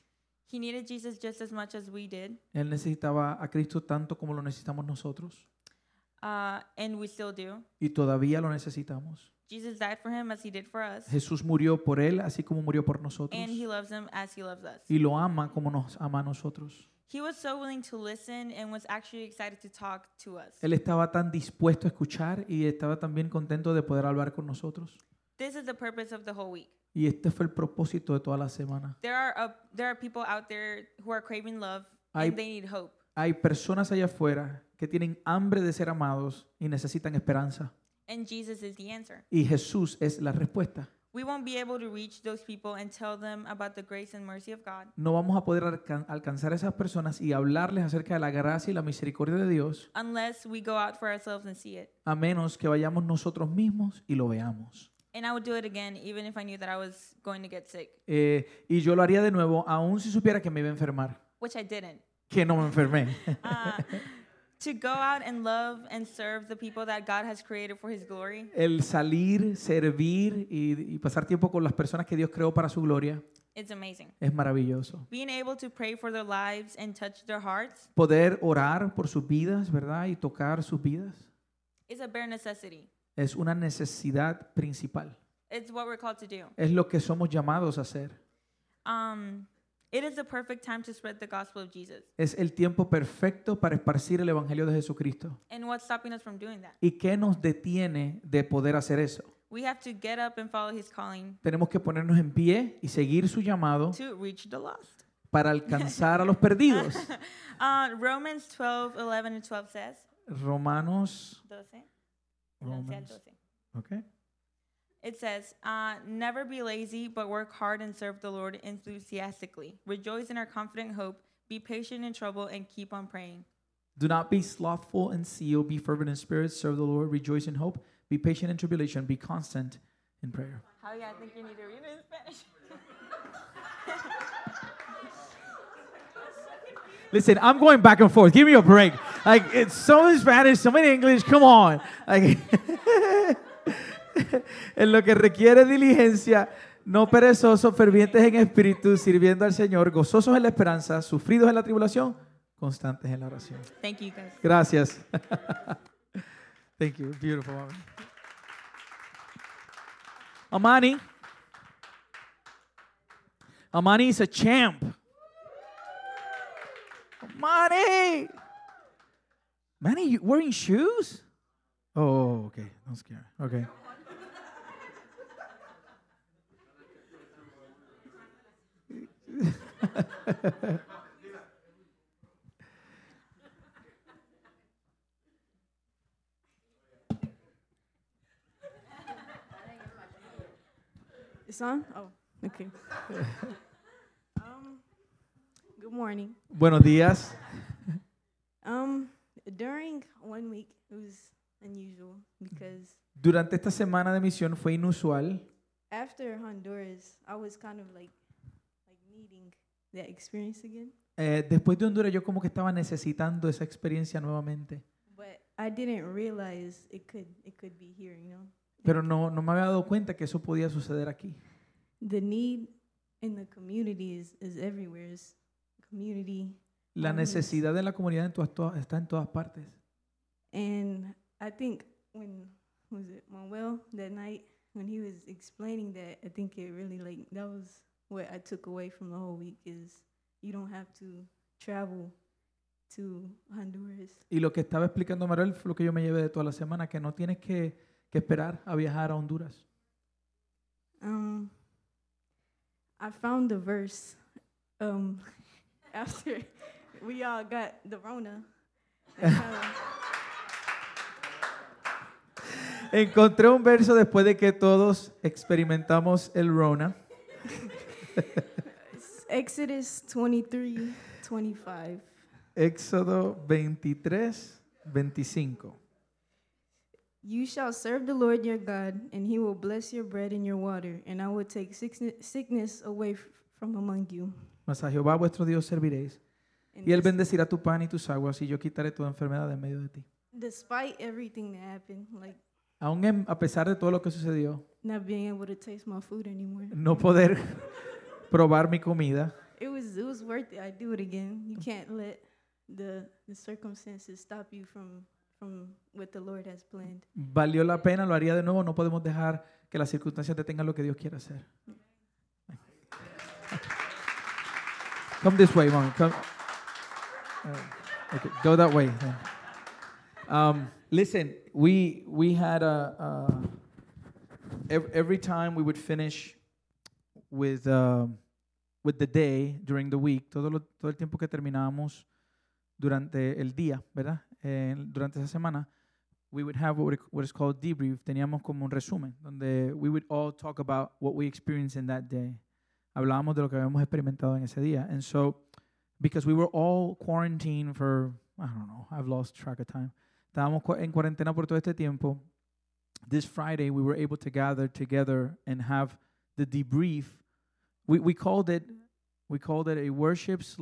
Speaker 11: He needed Jesus just as much as we did,
Speaker 1: Él necesitaba a Cristo tanto como lo necesitamos nosotros.
Speaker 11: and we still do.
Speaker 1: Y todavía lo necesitamos.
Speaker 11: Jesus died for him as he did for us,
Speaker 1: Jesús murió por él, así como murió por nosotros.
Speaker 11: and he loves him as he loves us.
Speaker 1: Y lo ama como nos ama a nosotros.
Speaker 11: He was so willing to listen and was actually excited to talk to us.
Speaker 1: Él estaba tan dispuesto a escuchar y estaba también contento de poder hablar con nosotros.
Speaker 11: This is the purpose of the whole week.
Speaker 1: Y este fue el propósito de toda la semana.
Speaker 11: There are people out there who are craving love,
Speaker 1: Hay-
Speaker 11: and they need hope.
Speaker 1: Hay personas allá afuera que tienen hambre de ser amados y necesitan esperanza.
Speaker 11: And Jesus is the answer.
Speaker 1: Y Jesús es la respuesta.
Speaker 11: We won't be able to reach those people and tell them about the grace and mercy of God
Speaker 1: No vamos a poder alcanzar a esas personas y hablarles acerca de la gracia y la misericordia de Dios
Speaker 11: unless we go out for ourselves and see it.
Speaker 1: a menos que vayamos nosotros mismos y lo veamos.
Speaker 11: And I would do it again even if I knew that I was going to get sick,
Speaker 1: Y yo lo haría de nuevo, aun si supiera que me iba a enfermar,
Speaker 11: which I didn't.
Speaker 1: que no me enfermé.
Speaker 11: To go out and love and serve the people that God has created for His glory
Speaker 1: El salir, servir y pasar tiempo con las personas que Dios creó para su gloria
Speaker 11: is amazing.
Speaker 1: es maravilloso.
Speaker 11: Being able to pray for their lives and touch their hearts
Speaker 1: Poder orar por sus vidas, ¿verdad? Y tocar sus vidas
Speaker 11: is a bare necessity.
Speaker 1: es una necesidad principal.
Speaker 11: It's what we're called to do.
Speaker 1: Es lo que somos llamados a hacer.
Speaker 11: It is the perfect time to spread the gospel of Jesus.
Speaker 1: Es el tiempo perfecto para esparcir el evangelio de Jesucristo.
Speaker 11: And what's stopping us from doing that?
Speaker 1: ¿Y qué nos detiene de poder hacer eso?
Speaker 11: We have to get up and follow His calling
Speaker 1: Tenemos que ponernos en pie y seguir su llamado
Speaker 11: to reach the lost.
Speaker 1: para alcanzar a los perdidos.
Speaker 11: Romans 12:11 and 12 says,
Speaker 1: Romanos
Speaker 11: 12,
Speaker 1: Romans.
Speaker 11: 12.
Speaker 1: Okay.
Speaker 11: It says, never be lazy, but work hard and serve the Lord enthusiastically. Rejoice in our confident hope. Be patient in trouble and keep on praying.
Speaker 1: Do not be slothful in zeal, be fervent in spirit, serve the Lord, rejoice in hope, be patient in tribulation, be constant in prayer.
Speaker 11: How do you think you need to read it in Spanish?
Speaker 1: Listen, I'm going back and forth. Give me a break. Like, it's some in Spanish, some in English. Come on. Like, en lo que requiere diligencia, no perezosos, fervientes en espíritu, sirviendo al Señor, gozosos en la esperanza, sufridos en la tribulación, constantes en la oración.
Speaker 11: Thank you, guys.
Speaker 1: Gracias. Thank you. Beautiful. Amani. Amani is a champ. Amani. Manny, you wearing shoes? Oh, okay. Don't scare. Okay.
Speaker 12: It's on? Oh, okay. Good morning.
Speaker 1: Buenos días.
Speaker 12: During 1 week, it was unusual because
Speaker 1: Durante esta semana de misión fue inusual.
Speaker 12: after Honduras, I was kind of like needing that experience again.
Speaker 1: Después de Honduras, yo como que estaba necesitando esa experiencia nuevamente.
Speaker 12: But I didn't realize it could be here, you know.
Speaker 1: Pero no me había dado cuenta que eso podía suceder aquí.
Speaker 12: The need in the community is everywhere. It's community.
Speaker 1: La necesidad de la comunidad está en todas partes.
Speaker 12: And I think when was it Manuel that night when he was explaining that, I think it really that was what I took away from the whole week is you don't have to travel to Honduras.
Speaker 1: Y lo que estaba explicando Manuel fue lo que yo me llevé de toda la semana, que no tienes que esperar a viajar a Honduras.
Speaker 12: I found the verse after we all got the Rona.
Speaker 1: Encontré un verso después de que todos experimentamos el Rona.
Speaker 12: Exodus 23:25.
Speaker 1: Éxodo 23:25.
Speaker 12: You shall serve the Lord your God, and he will bless your bread and your water, and I will take sickness away from among you.
Speaker 1: Mas a Jehová vuestro Dios serviréis, y él bendecirá tu pan y tus aguas, y yo quitaré toda enfermedad de en medio de ti.
Speaker 12: Despite everything that happened, like
Speaker 1: Aún a pesar de todo lo que sucedió,
Speaker 12: not being able to taste my food anymore,
Speaker 1: no poder probar mi comida,
Speaker 12: it was worth it. I'd do it again. You can't let the circumstances stop you from what the Lord has planned.
Speaker 1: Valió la pena, lo haría de nuevo. No podemos dejar que las circunstancias detengan lo que Dios quiere hacer. Come this way, Mommy. Come. Okay, go that way. Listen, we had every time we would finish with the day during the week, todo el tiempo que terminábamos durante el día, ¿verdad? Durante esa semana, we would have what is called debrief. Teníamos como un resumen donde we would all talk about what we experienced in that day. Hablábamos de lo que habíamos experimentado en ese día. And so, because we were all quarantined for, I don't know, I've lost track of time. Estábamos en cuarentena por todo este tiempo. This Friday, we were able to gather together and have the debrief. We called it a worship /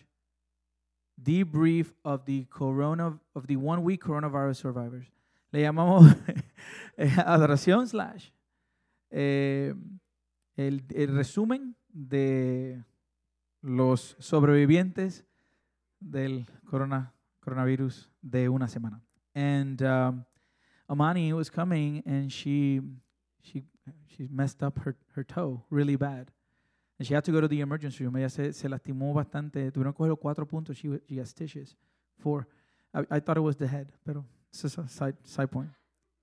Speaker 1: debrief of the 1 week coronavirus survivors. Le llamamos adoración / el resumen de los sobrevivientes del coronavirus de una semana. And Amani was coming and she messed up her toe really bad. And she had to go to the emergency room. Ella se lastimó bastante. Tuvieron que coger los 4 puntos. She had stitches. 4. I thought it was the head, pero it's just a side point.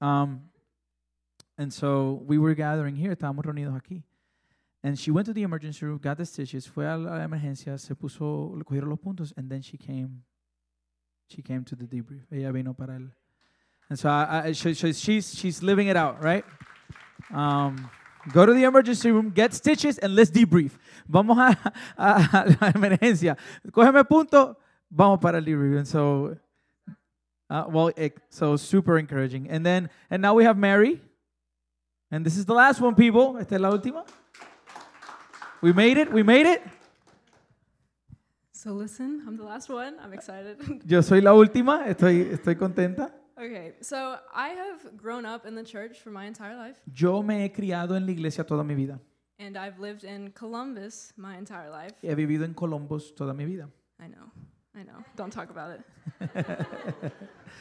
Speaker 1: And so we were gathering here. Estábamos reunidos aquí. And she went to the emergency room, got the stitches, fue a la emergencia, le cogieron los puntos, and then she came to the debrief. Ella vino para él. And so she's living it out, right? Go to the emergency room, get stitches, and let's debrief. Vamos a la emergencia. Cógeme punto, vamos para el debrief. And so, super encouraging. And now we have Mary. And this is the last one, people. Esta es la última. We made it.
Speaker 13: So listen, I'm the last one. I'm excited.
Speaker 1: Yo soy la última. Estoy contenta.
Speaker 13: Okay, so I have grown up in the church for my entire life.
Speaker 1: Yo me he criado en la iglesia toda mi vida.
Speaker 13: And I've lived in Columbus my entire life.
Speaker 1: He vivido en Columbus toda mi vida.
Speaker 13: I know. Don't talk about it.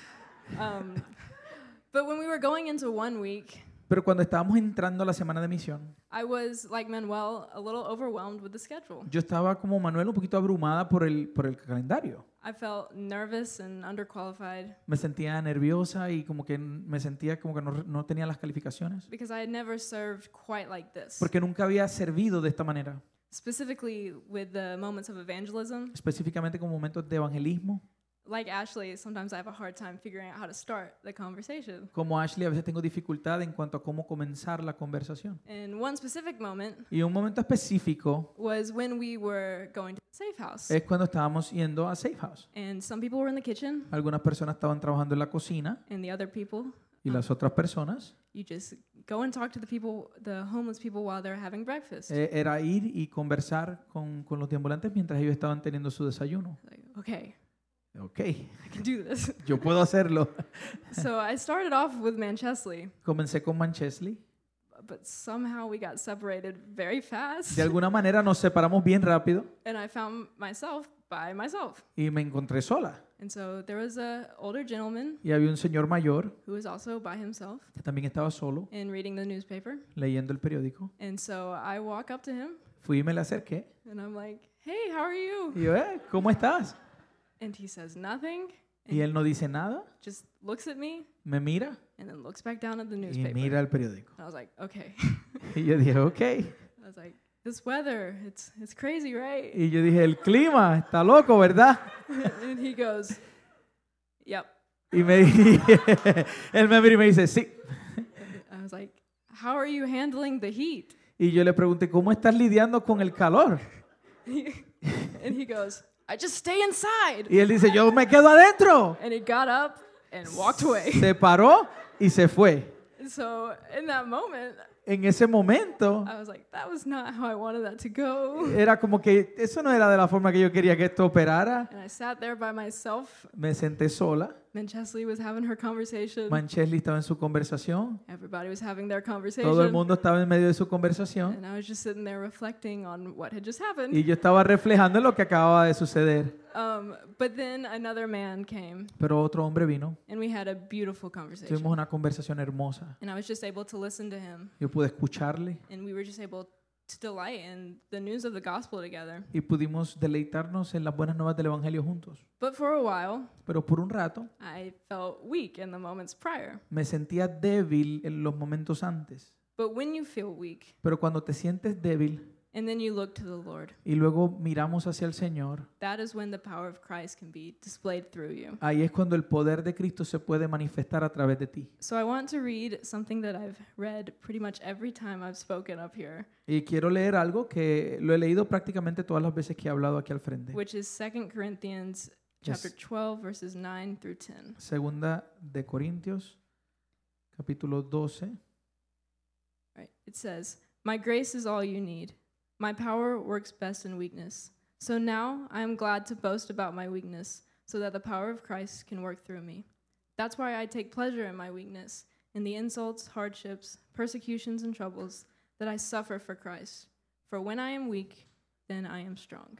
Speaker 13: But when we were going into 1 week,
Speaker 1: pero cuando estábamos entrando a la semana de misión,
Speaker 13: I was, like Manuel, a little overwhelmed with the schedule.
Speaker 1: Yo estaba como Manuel un poquito abrumada por el calendario.
Speaker 13: I felt nervous and underqualified.
Speaker 1: Me sentía nerviosa y como que me sentía como que no tenía las calificaciones.
Speaker 13: Because I had never served quite like this.
Speaker 1: Porque nunca había servido de esta manera.
Speaker 13: Specifically with the moments of evangelism.
Speaker 1: Específicamente con momentos de evangelismo.
Speaker 13: Like Ashley, sometimes I have a hard time figuring out how to start the conversation.
Speaker 1: Como Ashley, a veces tengo dificultad en cuanto a cómo comenzar la conversación.
Speaker 13: And one specific moment
Speaker 1: y un momento específico
Speaker 13: was when we were going to Safe House.
Speaker 1: Es cuando estábamos yendo a Safe House.
Speaker 13: And some people were in the kitchen.
Speaker 1: Algunas personas estaban trabajando en la cocina.
Speaker 13: And the other people.
Speaker 1: Y las otras personas.
Speaker 13: You just go and talk to the homeless people while they're having breakfast.
Speaker 1: Era ir y conversar con los deambulantes mientras ellos estaban teniendo su desayuno.
Speaker 13: Okay.
Speaker 1: Okay.
Speaker 13: I can do this.
Speaker 1: Yo puedo hacerlo.
Speaker 13: So I started off with Manchesley.
Speaker 1: Comencé con Manchesley.
Speaker 13: But somehow we got separated very fast.
Speaker 1: De alguna manera nos separamos bien rápido.
Speaker 13: And I found myself by myself.
Speaker 1: Y me encontré sola.
Speaker 13: And so there was an older gentleman.
Speaker 1: Y había un señor mayor.
Speaker 13: Who was also by himself.
Speaker 1: Que también estaba solo.
Speaker 13: And reading the newspaper.
Speaker 1: Leyendo el periódico.
Speaker 13: And so I walk up to him.
Speaker 1: Fui y me le acerqué.
Speaker 13: And I'm like, "Hey, how are you?"
Speaker 1: Y yo, ¿cómo estás?
Speaker 13: And he says nothing.
Speaker 1: Y él no dice nada.
Speaker 13: Just looks at me.
Speaker 1: Me mira.
Speaker 13: And then looks back down at the newspaper.
Speaker 1: Y mira el periódico.
Speaker 13: And I was like, okay.
Speaker 1: Y yo dije, okay.
Speaker 13: I was like, this weather, it's crazy, right?
Speaker 1: Y yo dije, el clima está loco, ¿verdad?
Speaker 13: And he goes, yep.
Speaker 1: Y él me mira y me dice, sí.
Speaker 13: I was like, how are you handling the heat?
Speaker 1: Y yo le pregunté, ¿cómo estás lidiando con el calor?
Speaker 13: And he goes, I just stay inside.
Speaker 1: Y él dice, yo me quedo adentro.
Speaker 13: And he got up and walked away.
Speaker 1: Se paró y se fue.
Speaker 13: So in that moment,
Speaker 1: en ese momento,
Speaker 13: I was like, that was not how I wanted that to go.
Speaker 1: Era como que eso no era de la forma que yo quería que esto operara.
Speaker 13: And I sat there by myself.
Speaker 1: Me senté sola.
Speaker 13: Chesley was having her conversation.
Speaker 1: Manchesley estaba en su conversación.
Speaker 13: Everybody was having their conversation.
Speaker 1: Todo el mundo estaba en medio de su conversación.
Speaker 13: And I was just sitting there reflecting on what had just happened.
Speaker 1: Y yo estaba reflejando lo que acababa de suceder.
Speaker 13: But then another man came.
Speaker 1: Pero otro hombre vino.
Speaker 13: And we had a beautiful conversation.
Speaker 1: Tuvimos una conversación hermosa.
Speaker 13: And I was just able to listen to him.
Speaker 1: Yo pude escucharle.
Speaker 13: And we were just able to delight in the news of the gospel together.
Speaker 1: Y pudimos deleitarnos en las buenas nuevas del evangelio juntos.
Speaker 13: But for a while,
Speaker 1: pero por un rato,
Speaker 13: I felt weak in the moments prior.
Speaker 1: Me sentía débil en los momentos antes.
Speaker 13: But when you feel weak,
Speaker 1: pero cuando te sientes débil,
Speaker 13: and then you look to the Lord,
Speaker 1: y luego miramos hacia el Señor,
Speaker 13: that is when the power of Christ can be displayed through you.
Speaker 1: Ahí es cuando el poder de Cristo se puede manifestar a través de ti.
Speaker 13: So I want to read something that I've read pretty much every time I've spoken up here.
Speaker 1: Y quiero leer algo que lo he leído prácticamente todas las veces que he hablado aquí al frente.
Speaker 13: Which is 2 Corinthians chapter 12 verses 9 through 10.
Speaker 1: Segunda de Corintios capítulo 12.
Speaker 13: Right. It says, "My grace is all you need. My power works best in weakness. So now I am glad to boast about my weakness, so that the power of Christ can work through me. That's why I take pleasure in my weakness, in the insults, hardships, persecutions, and troubles that I suffer for Christ. For when I am weak, then I am strong."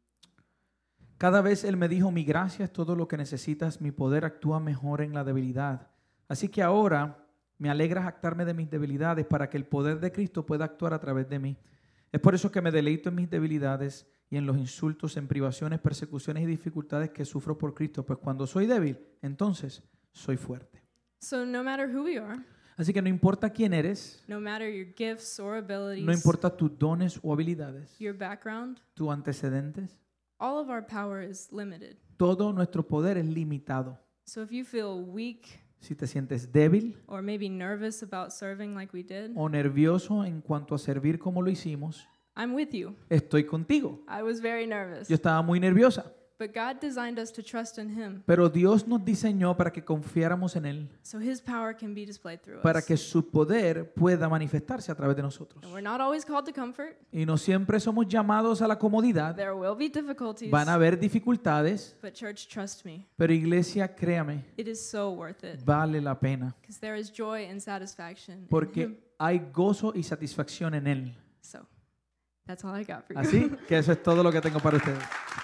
Speaker 1: Cada vez él me dijo, mi gracia es todo lo que necesitas, mi poder actúa mejor en la debilidad. Así que ahora me alegra jactarme de mis debilidades para que el poder de Cristo pueda actuar a través de mí. Es por eso que me deleito en mis debilidades y en los insultos, en privaciones, persecuciones y dificultades que sufro por Cristo, pues cuando soy débil, entonces soy fuerte.
Speaker 13: So no matter who we are,
Speaker 1: Así que no importa quién eres,
Speaker 13: no matter your gifts or abilities,
Speaker 1: no importa tus dones o habilidades,
Speaker 13: your background,
Speaker 1: tus antecedentes,
Speaker 13: all of our power is limited.
Speaker 1: todo nuestro poder es limitado.
Speaker 13: So if you feel weak,
Speaker 1: Si te sientes débil
Speaker 13: or maybe nervous about serving like we did,
Speaker 1: o nervioso en cuanto a servir como lo hicimos,
Speaker 13: I'm with you.
Speaker 1: estoy contigo.
Speaker 13: I was very nervous.
Speaker 1: Yo estaba muy nerviosa,
Speaker 13: But God designed us to trust in Him,
Speaker 1: pero Dios nos diseñó para que confiáramos en Él,
Speaker 13: so His power can be displayed through
Speaker 1: para
Speaker 13: us.
Speaker 1: que su poder pueda manifestarse a través de nosotros.
Speaker 13: And we're not always called to comfort.
Speaker 1: Y no siempre somos llamados a la comodidad.
Speaker 13: There will be difficulties.
Speaker 1: Van a haber dificultades,
Speaker 13: But church, trust me,
Speaker 1: pero iglesia, créame,
Speaker 13: it is so worth it.
Speaker 1: vale la pena,
Speaker 13: Because there is joy and satisfaction in Him.
Speaker 1: porque hay gozo y satisfacción en Él.
Speaker 13: So, that's all I got for you.
Speaker 1: Así que eso es todo lo que tengo para ustedes.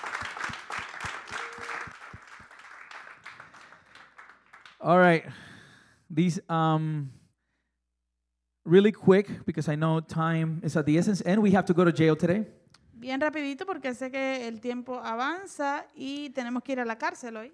Speaker 1: All right. These really quick because I know time is at the essence and we have to go to jail today.
Speaker 14: Bien rapidito porque sé que el tiempo avanza y tenemos que ir a la cárcel hoy.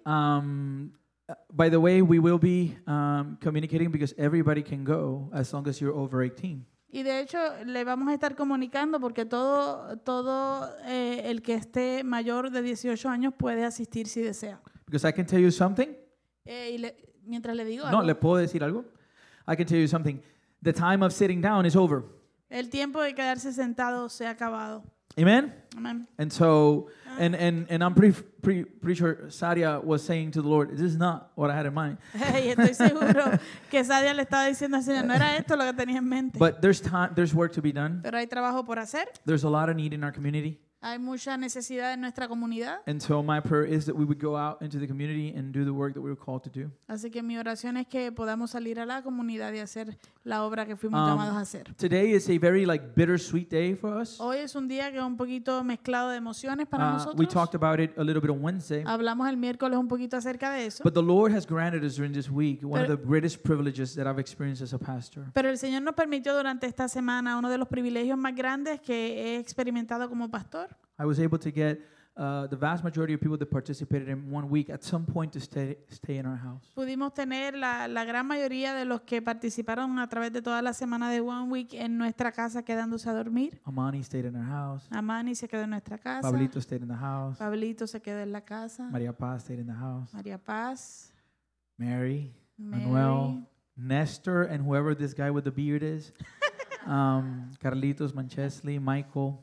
Speaker 1: By the way, we will be communicating because everybody can go as long as you're over 18.
Speaker 14: Y de hecho le vamos a estar comunicando porque todo el que esté mayor de 18 años puede asistir si desea.
Speaker 1: Because I can tell you something.
Speaker 14: Mientras le digo
Speaker 1: No,
Speaker 14: algo,
Speaker 1: ¿le puedo decir algo? I can tell you something. The time of sitting down is over.
Speaker 14: el tiempo de quedarse sentado se ha acabado.
Speaker 1: Amen?
Speaker 14: Amén.
Speaker 1: And so, and I'm pretty sure Sadia was saying to the Lord, this is not what I had in mind.
Speaker 14: Y estoy seguro que Sadia le estaba diciendo al Señor, no era esto lo que tenía en mente.
Speaker 1: But there's work to be done.
Speaker 14: Pero hay trabajo por hacer.
Speaker 1: There's a lot of need in our community.
Speaker 14: Hay mucha necesidad en nuestra comunidad.
Speaker 1: And so my prayer is that we would go out into the community and do the work that we were called to do.
Speaker 14: Así que mi oración es que podamos salir a la comunidad y hacer la obra que fuimos llamados a hacer.
Speaker 1: Today is a very bittersweet day for us.
Speaker 14: Hoy es un día que es un poquito mezclado de emociones para nosotros.
Speaker 1: We talked about it a little bit on Wednesday.
Speaker 14: Hablamos el miércoles un poquito acerca de eso.
Speaker 1: But the Lord has granted us during this week one of the greatest privileges that I've experienced as a pastor.
Speaker 14: Pero el Señor nos permitió durante esta semana uno de los privilegios más grandes que he experimentado como pastor.
Speaker 1: I was able to get the vast majority of people that participated in 1 week at some point to stay in our house.
Speaker 14: Pudimos tener la gran mayoría de los que participaron a través de toda la semana de 1 week en nuestra casa quedándose a dormir.
Speaker 1: Amani stayed in our house.
Speaker 14: Amani se quedó en nuestra casa.
Speaker 1: Pablito stayed in the house.
Speaker 14: Pablito se quedó en la casa.
Speaker 1: Maria Paz stayed in the house.
Speaker 14: María Paz.
Speaker 1: Mary. Manuel. Nestor and whoever this guy with the beard is. Carlitos, Manchesley, Michael.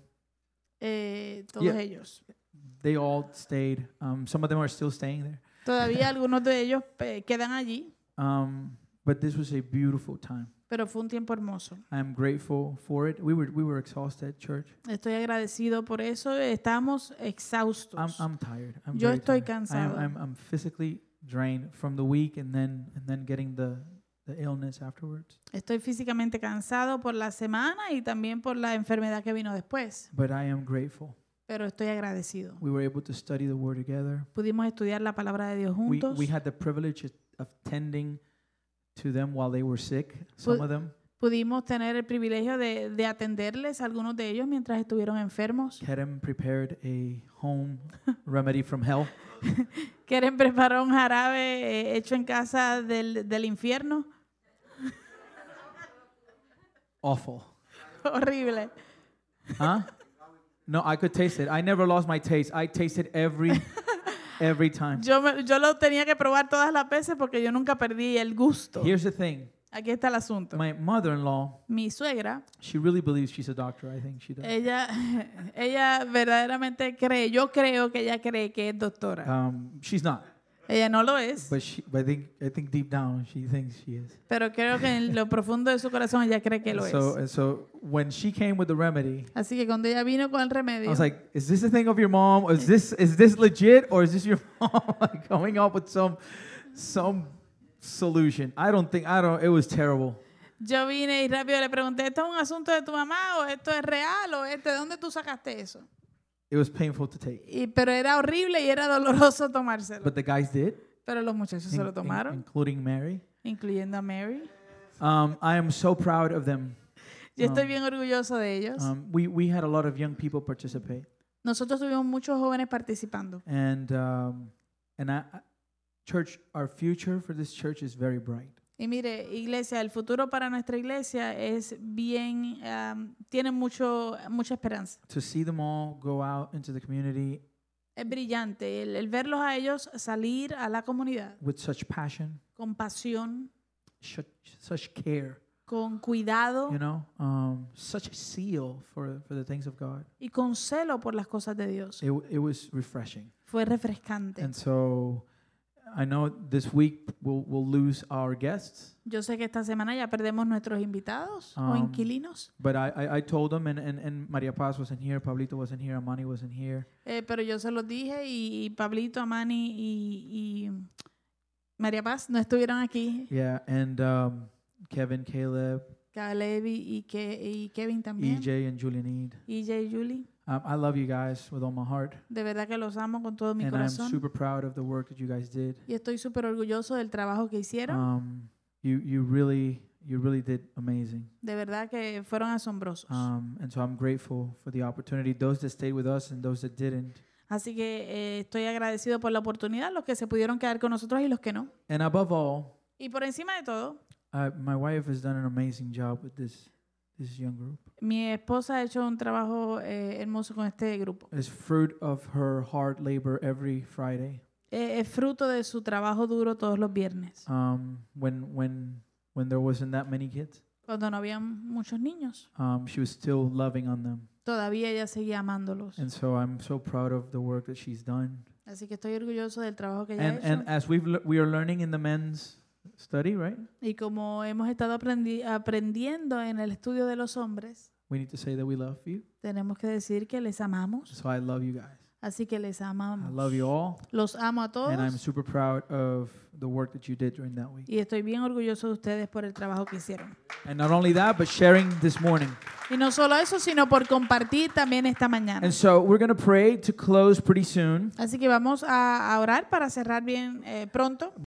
Speaker 14: Todos ellos.
Speaker 1: They all stayed. Some of them are still staying there.
Speaker 14: Todavía algunos de ellos quedan allí.
Speaker 1: But this was a beautiful time.
Speaker 14: Pero fue un tiempo hermoso.
Speaker 1: I am grateful for it. We were exhausted, church.
Speaker 14: Estoy agradecido por eso. Estamos exhaustos.
Speaker 1: I'm tired.
Speaker 14: Yo estoy cansado.
Speaker 1: I'm physically drained from the week and then getting the illness afterwards.
Speaker 14: Estoy físicamente cansado por la semana y también por la enfermedad que vino después,
Speaker 1: But I am grateful.
Speaker 14: pero estoy agradecido.
Speaker 1: We were able to study the word together.
Speaker 14: Pudimos estudiar la palabra de Dios juntos.
Speaker 1: We had the privilege of tending to them while they were sick, some of them.
Speaker 14: Pudimos tener el privilegio de atenderles a algunos de ellos mientras estuvieron enfermos.
Speaker 1: Karen prepared a home remedy from hell.
Speaker 14: Karen preparó un jarabe hecho en casa del infierno.
Speaker 1: Awful.
Speaker 14: Horrible.
Speaker 1: Huh? No, I could taste it. I never lost my taste. I taste it every time.
Speaker 14: Yo lo tenía que probar todas las veces porque yo nunca perdí el gusto.
Speaker 1: Here's the thing.
Speaker 14: Aquí está el asunto.
Speaker 1: My mother-in-law,
Speaker 14: Mi suegra,
Speaker 1: she really believes she's a doctor. I think she does.
Speaker 14: ella verdaderamente cree, yo creo que ella cree que es doctora.
Speaker 1: She's not.
Speaker 14: Ella no lo es,
Speaker 1: But I think deep down she thinks she is.
Speaker 14: pero creo que en lo profundo de su corazón ella cree que lo es.
Speaker 1: And so when she came with the remedy,
Speaker 14: Así que cuando ella vino con el
Speaker 1: I
Speaker 14: remedio,
Speaker 1: was like, is this a thing of your mom? Is this legit, or is this your mom like coming up with some solution? It was terrible.
Speaker 14: yo vine y rápido le pregunté, ¿esto es un asunto de tu mamá o esto es real o de dónde tú sacaste eso?
Speaker 1: It was painful to take.
Speaker 14: Pero era horrible y era doloroso tomárselo.
Speaker 1: But the guys did,
Speaker 14: Pero los muchachos se lo tomaron,
Speaker 1: including Mary.
Speaker 14: incluyendo a Mary.
Speaker 1: I am so proud of them.
Speaker 14: Yo estoy bien orgulloso de ellos.
Speaker 1: We had a lot of young people participate.
Speaker 14: Nosotros tuvimos muchos jóvenes participando.
Speaker 1: And church, our future for this church is very bright.
Speaker 14: Y mire, iglesia, el futuro para nuestra iglesia es bien, tiene mucha esperanza.
Speaker 1: To see them all go out into the community
Speaker 14: Es brillante el verlos a ellos salir a la comunidad
Speaker 1: with such passion,
Speaker 14: con pasión,
Speaker 1: such care,
Speaker 14: con cuidado
Speaker 1: you know, such a zeal for the things of God.
Speaker 14: y con celo por las cosas de Dios.
Speaker 1: It was refreshing.
Speaker 14: Fue refrescante.
Speaker 1: And so I know this week we'll lose our guests.
Speaker 14: Yo sé que esta semana ya perdemos nuestros invitados o inquilinos,
Speaker 1: But I told them, and Maria Paz wasn't here, Pablito wasn't here, Amani wasn't here.
Speaker 14: pero yo se los dije y Pablito, Amani y María Paz no estuvieron aquí.
Speaker 1: Yeah, and Kevin, Caleb,
Speaker 14: Caleb y Kevin también.
Speaker 1: EJ, and Julian Eid.
Speaker 14: EJ y Julie.
Speaker 1: I love you guys with all my heart.
Speaker 14: De verdad que los amo con todo mi
Speaker 1: And I'm
Speaker 14: corazón.
Speaker 1: super proud of the work that you guys did.
Speaker 14: Y estoy súper orgulloso del trabajo que hicieron.
Speaker 1: You really did amazing.
Speaker 14: De verdad que fueron asombrosos.
Speaker 1: And so I'm grateful for the opportunity, those that stayed with us and those that didn't.
Speaker 14: Así que estoy agradecido por la oportunidad, los que se pudieron quedar con nosotros y los que no.
Speaker 1: And above all,
Speaker 14: Y por encima de todo,
Speaker 1: my wife has done an amazing job with this young group.
Speaker 14: mi esposa ha hecho un trabajo hermoso con este grupo.
Speaker 1: It's fruit of her hard labor every Friday.
Speaker 14: Es fruto de su trabajo duro todos los viernes,
Speaker 1: When there wasn't that many kids,
Speaker 14: cuando no había muchos niños.
Speaker 1: she was still loving on them.
Speaker 14: Todavía ella seguía amándolos.
Speaker 1: And so I'm so proud of the work that she's done.
Speaker 14: Así que estoy orgulloso del trabajo que ella ha hecho.
Speaker 1: And as we are learning in the men's study, right?
Speaker 14: Y como hemos estado aprendiendo en el estudio de los hombres,
Speaker 1: We need to say that we love you.
Speaker 14: tenemos que decir que les amamos.
Speaker 1: So I love you guys.
Speaker 14: Así que les amamos.
Speaker 1: I love you all.
Speaker 14: Los amo a
Speaker 1: And I'm
Speaker 14: todos
Speaker 1: super proud of the work that you did during that week.
Speaker 14: y estoy bien orgulloso de ustedes por el trabajo que hicieron.
Speaker 1: And not only that, but sharing this morning.
Speaker 14: Y no solo eso, sino por compartir también esta mañana.
Speaker 1: And so we're going to pray to close pretty soon.
Speaker 14: Así que vamos a orar para cerrar bien pronto.